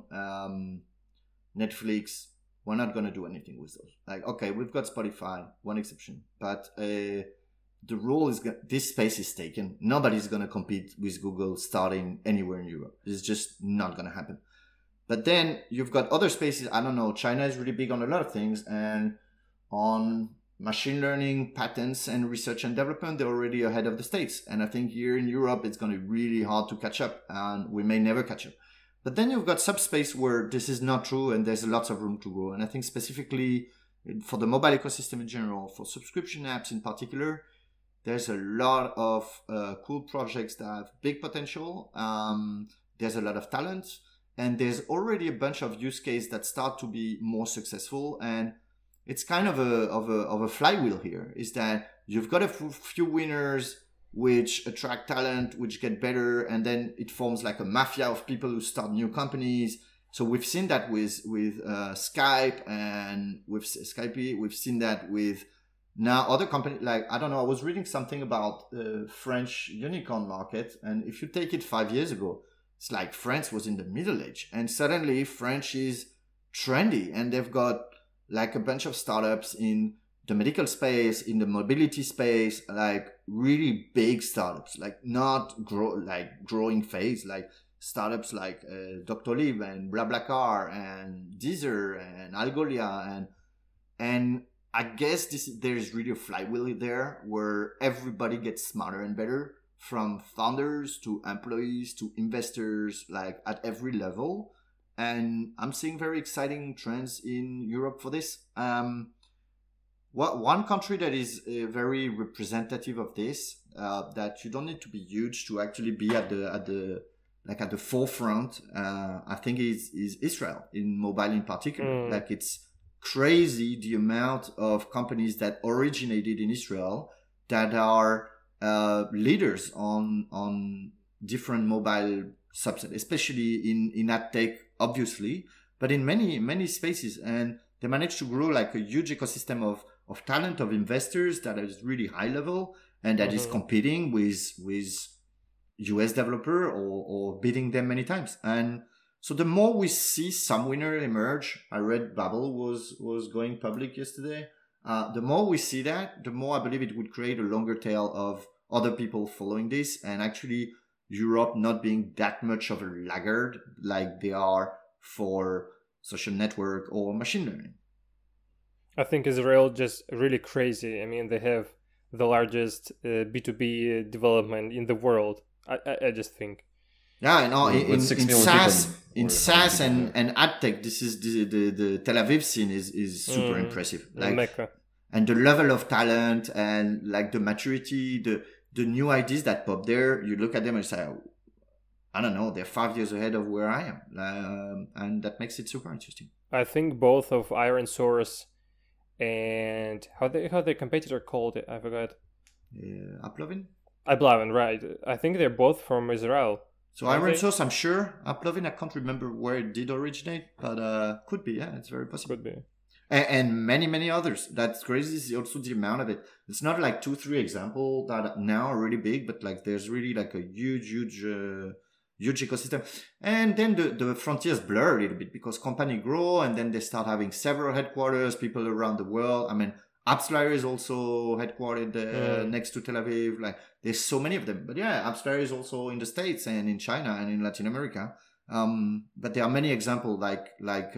Netflix, we're not going to do anything with those. Like, okay, we've got Spotify, one exception, but the rule is this space is taken. Nobody's going to compete with Google starting anywhere in Europe. It's just not going to happen. But then you've got other spaces. I don't know. China is really big on a lot of things, and on machine learning, patents, and research and development, they're already ahead of the States. And I think here in Europe, it's going to be really hard to catch up, and we may never catch up. But then you've got subspace where this is not true, and there's lots of room to grow. And I think specifically for the mobile ecosystem in general, for subscription apps in particular, there's a lot of cool projects that have big potential. There's a lot of talent, and there's already a bunch of use cases that start to be more successful. And it's kind of a flywheel here, is that you've got a few winners which attract talent, which get better, and then it forms like a mafia of people who start new companies. So we've seen that with Skype and with Skype. We've seen that with now other companies. Like, I don't know, I was reading something about the French unicorn market, and if you take it 5 years ago, it's like France was in the Middle Age, and suddenly French is trendy, and they've got like a bunch of startups in the medical space, in the mobility space, like really big startups, like not growing phase, like startups like Doctolib and BlaBlaCar and Deezer and Algolia, and I guess there is really a flywheel there where everybody gets smarter and better, from founders to employees to investors, like at every level. And I'm seeing very exciting trends in Europe for this. One country that is very representative of this, that you don't need to be huge to actually be at the forefront, I think is Israel, in mobile in particular. Like, it's crazy the amount of companies that originated in Israel that are leaders on different mobile subsets, especially in ad tech, obviously, but in many spaces. And they managed to grow like a huge ecosystem of talent, of investors that is really high level, and that is competing with US developer or beating them many times. And so the more we see some winner emerge, I read Babbel was going public yesterday. The more we see that, the more I believe it would create a longer tail of other people following this, and actually Europe not being that much of a laggard like they are for social network or machine learning. I think Israel just really crazy. I mean, they have the largest B2B development in the world. I just think. Yeah, I know. In SaaS and ad tech, this is the Tel Aviv scene is super impressive. Like, Mecca. And the level of talent and like the maturity, the new ideas that pop there, you look at them and say, I don't know, they're 5 years ahead of where I am, and that makes it super interesting. I think both of Iron Source and how their competitor called it, I forgot. Uplovin, right? I think they're both from Israel. So Iron Source, I'm sure. Uplovin, I can't remember where it did originate, but could be. Yeah, it's very possible. Could be. And many others. That's crazy. Is also the amount of it. It's not like 2-3 examples that now are really big, but like there's really like a huge ecosystem. And then the frontiers blur a little bit because company grow, and then they start having several headquarters, people around the world. I mean, AppsFlyer is also headquartered next to Tel Aviv. Like, there's so many of them. But yeah, AppsFlyer is also in the States and in China and in Latin America. But there are many examples like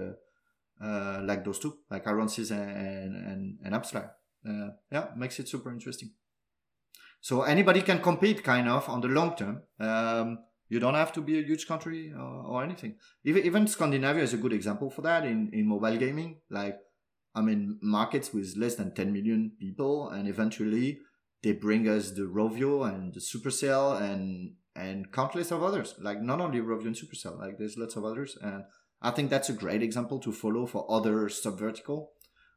those two, like Ironsys and AppsFlyer. Yeah, makes it super interesting. So anybody can compete kind of on the long term. You don't have to be a huge country or anything. Even Scandinavia is a good example for that in mobile gaming. Like, I mean, markets with less than 10 million people, and eventually they bring us the Rovio and the Supercell and countless of others. Like, not only Rovio and Supercell, like there's lots of others. And I think that's a great example to follow for other sub-vertical.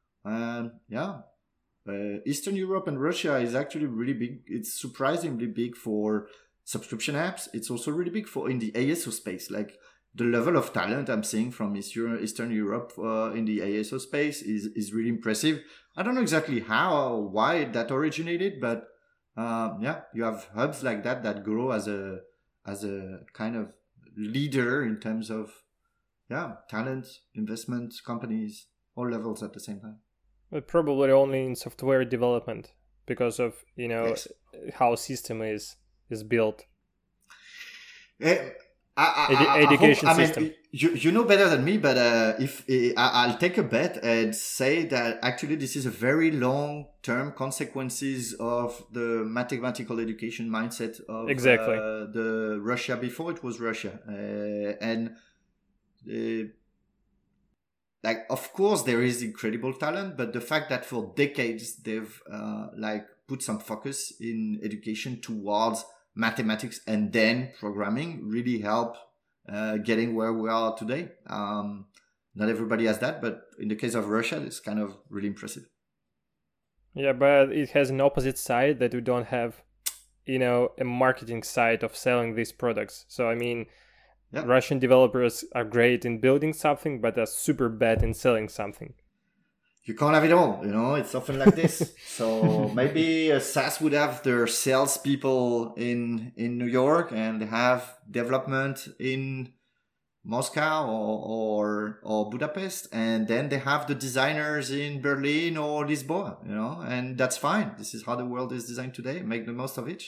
Eastern Europe and Russia is actually really big. It's surprisingly big for subscription apps. It's also really big in the ASO space. Like, the level of talent I'm seeing from Eastern Europe in the ASO space is really impressive. I don't know exactly why that originated, but you have hubs like that grow as a kind of leader in terms of talent, investment, companies, all levels at the same time. But probably only in software development because of how system is built. education I system. mean, you know better than me, but I'll take a bet and say that actually this is a very long-term consequences of the mathematical education mindset of Exactly. the Russia before it was Russia, and like of course there is incredible talent, but the fact that for decades they've like put some focus in education towards mathematics and then programming really help getting where we are today. Not everybody has that, but in the case of Russia, it's kind of really impressive. Yeah, but it has an opposite side that we don't have, a marketing side of selling these products. So, I mean, Yeah. Russian developers are great in building something, but are super bad in selling something. You can't have it all, it's often like this. So maybe SAS would have their salespeople in New York and have development in Moscow or Budapest, and then they have the designers in Berlin or Lisboa, and that's fine. This is how the world is designed today. Make the most of it.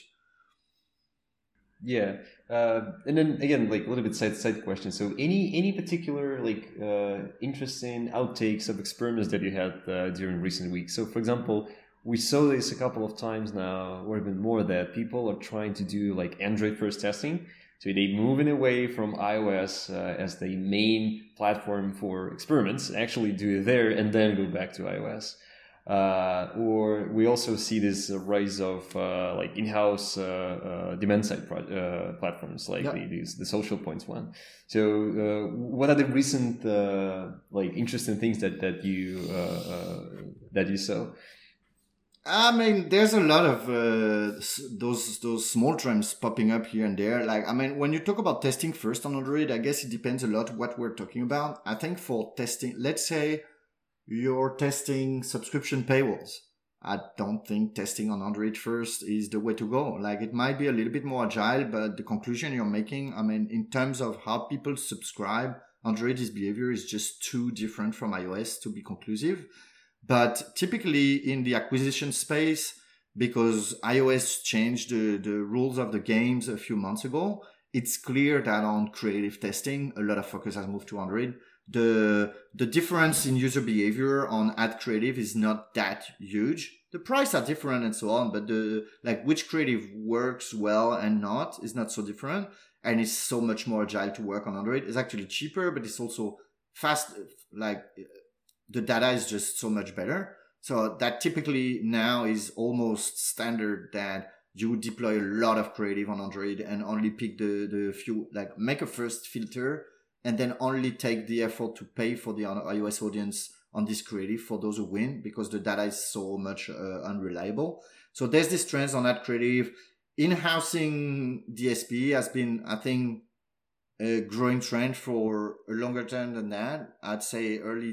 Yeah, and then again, like a little bit side question. So, any particular interesting outtakes of experiments that you had during recent weeks? So, for example, we saw this a couple of times now, or even more, that people are trying to do like Android first testing. So they moving away from iOS as the main platform for experiments, actually do it there and then go back to iOS. Or we also see this rise of like in-house demand-side platforms, like the Social Points one. So, what are the recent interesting things that you saw? I mean, there's a lot of those small trends popping up here and there. Like, I mean, when you talk about testing first on Android, I guess it depends a lot what we're talking about. I think for testing, let's say you're testing subscription paywalls. I don't think testing on Android first is the way to go. Like, it might be a little bit more agile, but the conclusion you're making, I mean, in terms of how people subscribe, Android's behavior is just too different from iOS to be conclusive. But typically in the acquisition space, because iOS changed the rules of the games a few months ago, it's clear that on creative testing, a lot of focus has moved to Android. The difference in user behavior on ad creative is not that huge. The price are different and so on, but which creative works well and not is not so different. And it's so much more agile to work on Android. It's actually cheaper, but it's also fast, the data is just so much better. So that typically now is almost standard that you would deploy a lot of creative on Android and only pick the few, like make a first filter and then only take the effort to pay for the iOS audience on this creative for those who win, because the data is so much unreliable. So there's this trend on that creative. In-housing DSP has been, I think, a growing trend for a longer term than that. I'd say early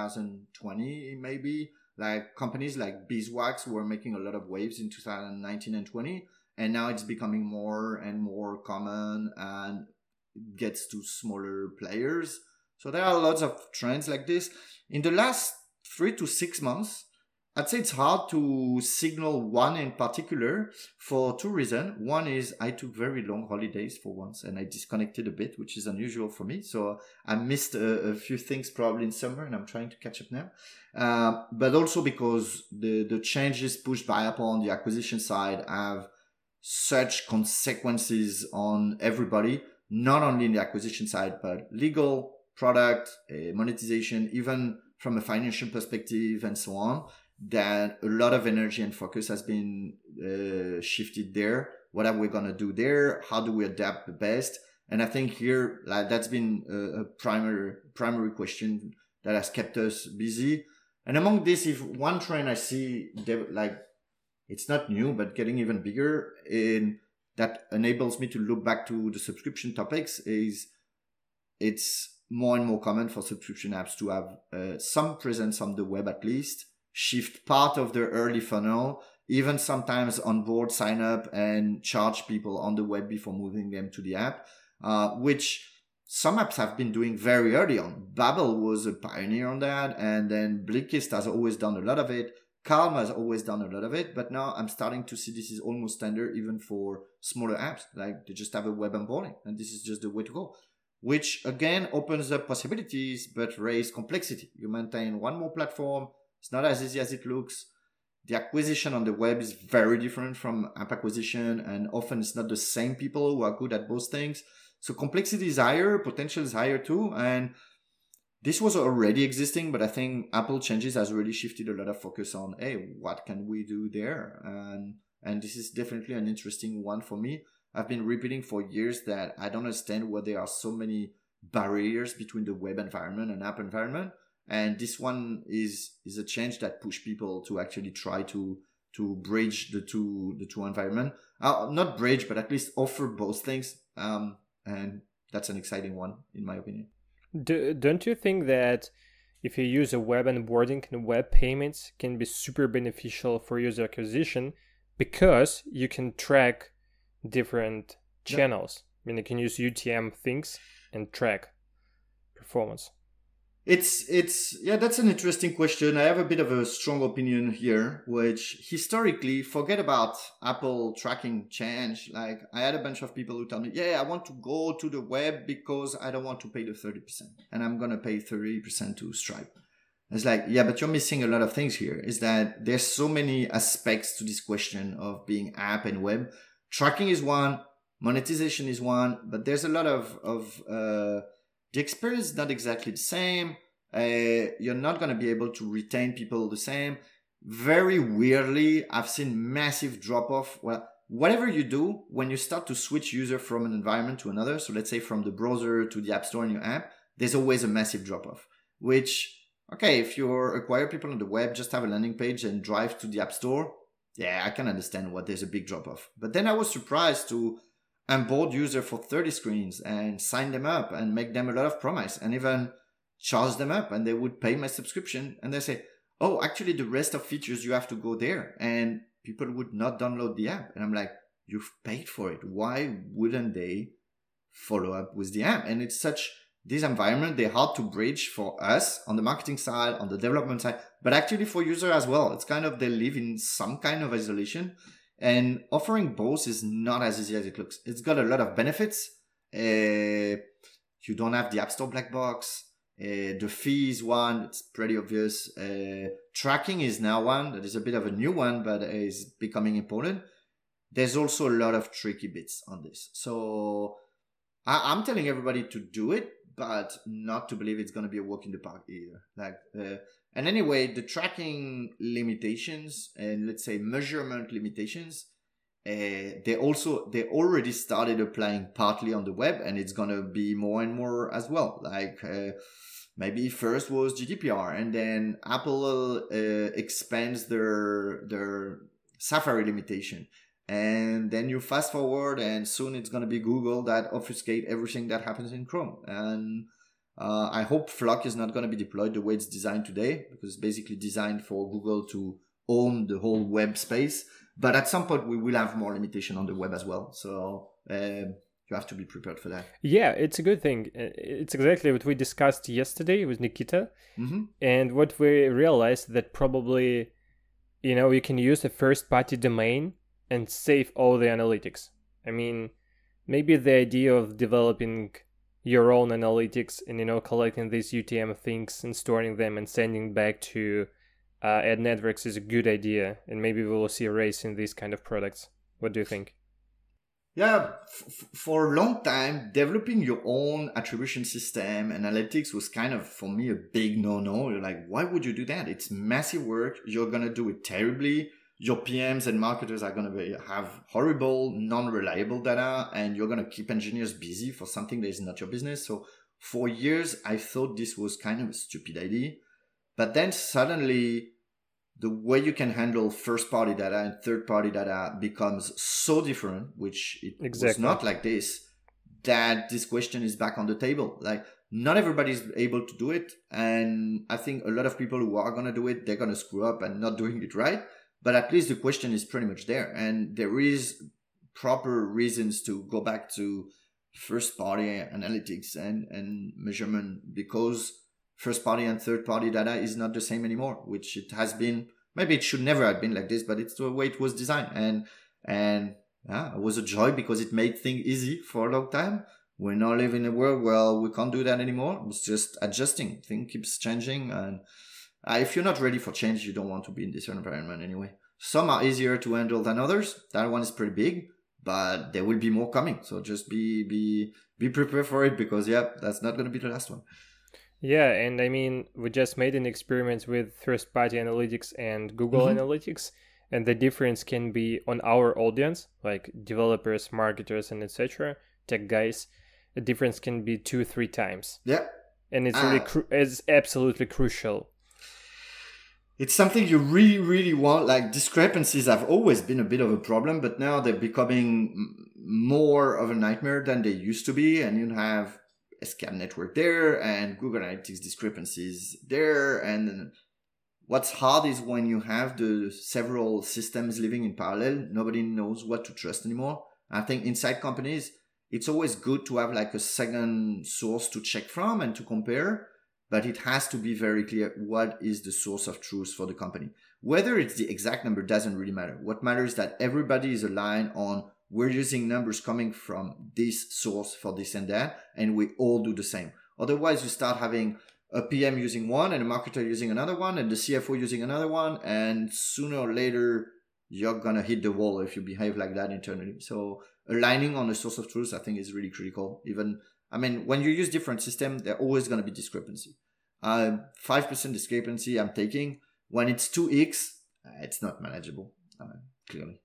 2020, maybe. Like companies like Beeswax were making a lot of waves in 2019 and 20, and now it's becoming more and more common and gets to smaller players. So there are lots of trends like this. In the last 3 to 6 months, I'd say it's hard to signal one in particular for two reasons. One is I took very long holidays for once and I disconnected a bit, which is unusual for me. So I missed a few things probably in summer and I'm trying to catch up now. But also because the changes pushed by Apple on the acquisition side have such consequences on everybody, not only in the acquisition side, but legal, product, monetization, even from a financial perspective and so on, that a lot of energy and focus has been shifted there. What are we going to do there? How do we adapt the best? And I think here, that's been a primary question that has kept us busy. And among this, if one trend I see, it's not new, but getting even bigger, in that enables me to look back to the subscription topics, is it's more and more common for subscription apps to have some presence on the web at least, shift part of their early funnel, even sometimes onboard, sign up and charge people on the web before moving them to the app, which some apps have been doing very early on. Babbel was a pioneer on that, and then Blinkist has always done a lot of it. Calm has always done a lot of it, but now I'm starting to see this is almost standard even for smaller apps. Like they just have a web onboarding, and this is just the way to go. Which again opens up possibilities, but raise complexity. You maintain one more platform. It's not as easy as it looks. The acquisition on the web is very different from app acquisition, and often it's not the same people who are good at both things. So complexity is higher, potential is higher too, and this was already existing, but I think Apple changes has really shifted a lot of focus on, hey, what can we do there? And this is definitely an interesting one for me. I've been repeating for years that I don't understand why there are so many barriers between the web environment and app environment. And this one is a change that push people to actually try to bridge the two environment. Not bridge, but at least offer both things. And that's an exciting one, in my opinion. Don't you think that if you use a web onboarding and web payments can be super beneficial for user acquisition because you can track different channels? I mean, you can use UTM things and track performance. That's an interesting question. I have a bit of a strong opinion here, which historically, forget about Apple tracking change. Like I had a bunch of people who tell me, I want to go to the web because I don't want to pay the 30% and I'm going to pay 30% to Stripe. It's like, but you're missing a lot of things here. Is that there's so many aspects to this question of being app and web. Tracking is one, monetization is one, but there's a lot of the experience is not exactly the same. You're not going to be able to retain people the same. Very weirdly, I've seen massive drop off. Well, whatever you do, when you start to switch user from an environment to another, so let's say from the browser to the app store in your app, there's always a massive drop off. Which, okay, if you acquire people on the web, just have a landing page and drive to the app store. Yeah, I can understand why there's a big drop off. But then I was surprised to onboard user for 30 screens and sign them up and make them a lot of promise and even charge them up, and they would pay my subscription and they say, oh, actually the rest of features you have to go there, and people would not download the app. And I'm like, you've paid for it. Why wouldn't they follow up with the app? And it's such this environment, they're hard to bridge for us on the marketing side, on the development side, but actually for user as well. It's kind of, they live in some kind of isolation. And offering both is not as easy as it looks. It's got a lot of benefits. You don't have the App Store black box. The fee is one. It's pretty obvious. Tracking is now one that is a bit of a new one, but is becoming important. There's also a lot of tricky bits on this. So I'm telling everybody to do it, but not to believe it's going to be a walk in the park either. And anyway, the tracking limitations and let's say measurement limitations, they already started applying partly on the web, and it's going to be more and more as well. Maybe first was GDPR, and then Apple expands their Safari limitation. And then you fast forward, and soon it's going to be Google that obfuscate everything that happens in Chrome. And I hope Flock is not going to be deployed the way it's designed today, because it's basically designed for Google to own the whole web space. But at some point, we will have more limitation on the web as well. So you have to be prepared for that. Yeah, it's a good thing. It's exactly what we discussed yesterday with Nikita. Mm-hmm. And what we realized that probably, you can use a first-party domain and save all the analytics. I mean, maybe the idea of developing your own analytics and, collecting these UTM things and storing them and sending back to ad networks is a good idea. And maybe we will see a race in these kind of products. What do you think? Yeah, for a long time, developing your own attribution system, analytics was kind of, for me, a big no-no. You're like, why would you do that? It's massive work. You're going to do it terribly. Your PMs and marketers are going to have horrible, non-reliable data, and you're going to keep engineers busy for something that is not your business. So for years, I thought this was kind of a stupid idea. But then suddenly, the way you can handle first-party data and third-party data becomes so different, which it was not like this, that this question is back on the table. Like, not everybody is able to do it. And I think a lot of people who are going to do it, they're going to screw up and not doing it right. But at least the question is pretty much there. And there is proper reasons to go back to first-party analytics and measurement, because first-party and third-party data is not the same anymore, which it has been maybe it should never have been like this, but it's the way it was designed. And yeah, it was a joy because it made things easy for a long time. We now live in a world where we can't do that anymore. It's just adjusting. Things keeps changing. And if you're not ready for change, you don't want to be in this environment anyway. Some are easier to handle than others. That one is pretty big, but there will be more coming. So just be prepared for it because, that's not going to be the last one. Yeah, and I mean, we just made an experiment with first-party analytics and Google Analytics, and the difference can be on our audience, like developers, marketers, and etc., tech guys. The difference can be 2-3 times. Yeah. And it's really it's absolutely crucial. It's something you really, really want. Like, discrepancies have always been a bit of a problem, but now they're becoming more of a nightmare than they used to be. And you have SCAD network there and Google Analytics discrepancies there. And what's hard is when you have the several systems living in parallel, nobody knows what to trust anymore. I think inside companies, it's always good to have like a second source to check from and to compare, but it has to be very clear what is the source of truth for the company. Whether it's the exact number doesn't really matter. What matters is that everybody is aligned on we're using numbers coming from this source for this and that, and we all do the same. Otherwise, you start having a PM using one and a marketer using another one and the CFO using another one, and sooner or later, you're going to hit the wall if you behave like that internally. So aligning on the source of truth, I think, is really critical. When you use different systems, there's always going to be discrepancy. 5% discrepancy I'm taking. When it's 2x, it's not manageable, clearly.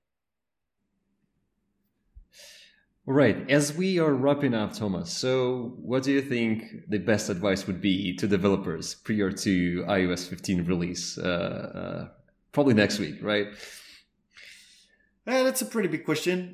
All right. As we are wrapping up, Thomas, so what do you think the best advice would be to developers prior to iOS 15 release? Probably next week, right? Yeah, that's a pretty big question.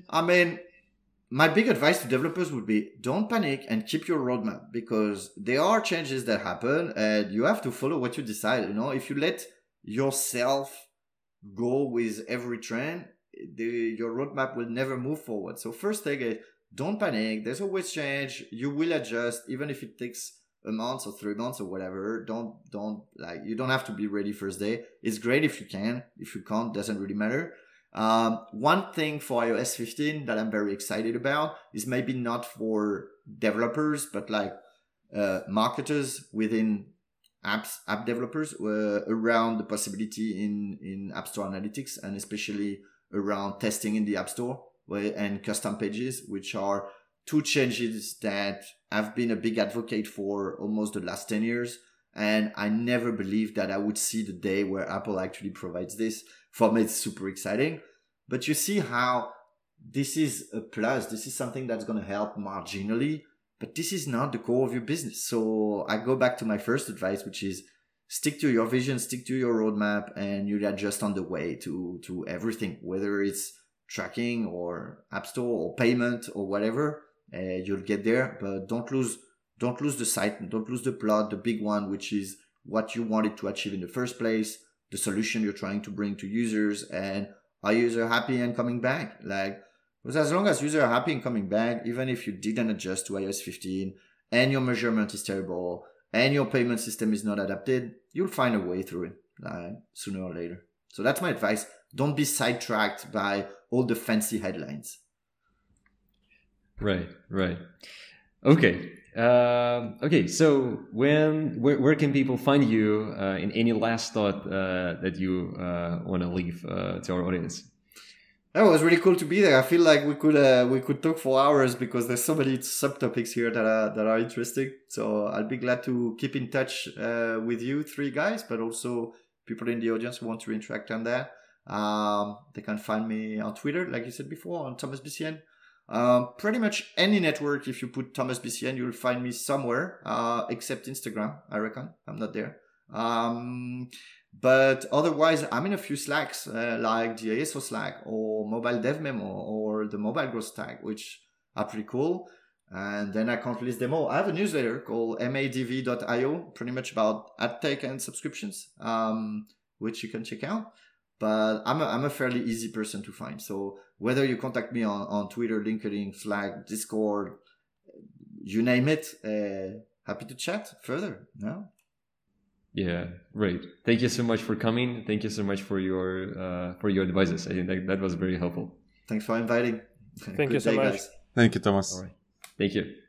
My big advice to developers would be don't panic and keep your roadmap, because there are changes that happen and you have to follow what you decide. If you let yourself go with every trend, your roadmap will never move forward. So first thing is don't panic. There's always change. You will adjust, even if it takes a month or 3 months or whatever. You don't have to be ready first day. It's great if you can. If you can't, doesn't really matter. One thing for iOS 15 that I'm very excited about is maybe not for developers, but like marketers within app developers around the possibility in App Store Analytics, and especially around testing in the App Store and custom pages, which are two changes that I've been a big advocate for almost the last 10 years. And I never believed that I would see the day where Apple actually provides this. For me, it's super exciting. But you see how this is a plus. This is something that's going to help marginally, but this is not the core of your business. So I go back to my first advice, which is stick to your vision, stick to your roadmap, and you'll adjust on the way to everything, whether it's tracking or App Store or payment or whatever. You'll get there, but don't lose the sight, don't lose the plot, the big one, which is what you wanted to achieve in the first place, the solution you're trying to bring to users, and are users happy and coming back? Because as long as users are happy and coming back, even if you didn't adjust to iOS 15 and your measurement is terrible and your payment system is not adapted, you'll find a way through it sooner or later. So that's my advice. Don't be sidetracked by all the fancy headlines. Right. Okay. So where can people find you in any last thought that you want to leave to our audience? It was really cool to be there. I feel like we could talk for hours because there's so many subtopics here that are interesting. So I'll be glad to keep in touch with you three guys, but also people in the audience who want to interact on that. They can find me on Twitter, like you said before, on Thomas BCN. Pretty much any network, if you put Thomas BCN, you'll find me somewhere, except Instagram, I reckon. I'm not there. But otherwise, I'm in a few Slacks, like the ASO Slack or Mobile Dev Memo or the Mobile Growth Stack, which are pretty cool. And then I can't list them all. I have a newsletter called madv.io, pretty much about ad tech and subscriptions, which you can check out. But I'm a fairly easy person to find. So whether you contact me on Twitter, LinkedIn, Slack, Discord, you name it, happy to chat further. Yeah, great. Thank you so much for coming. Thank you so much for your advices. I think that was very helpful. Thanks for inviting. Thank you so much. Guys. Thank you, Thomas. All right. Thank you.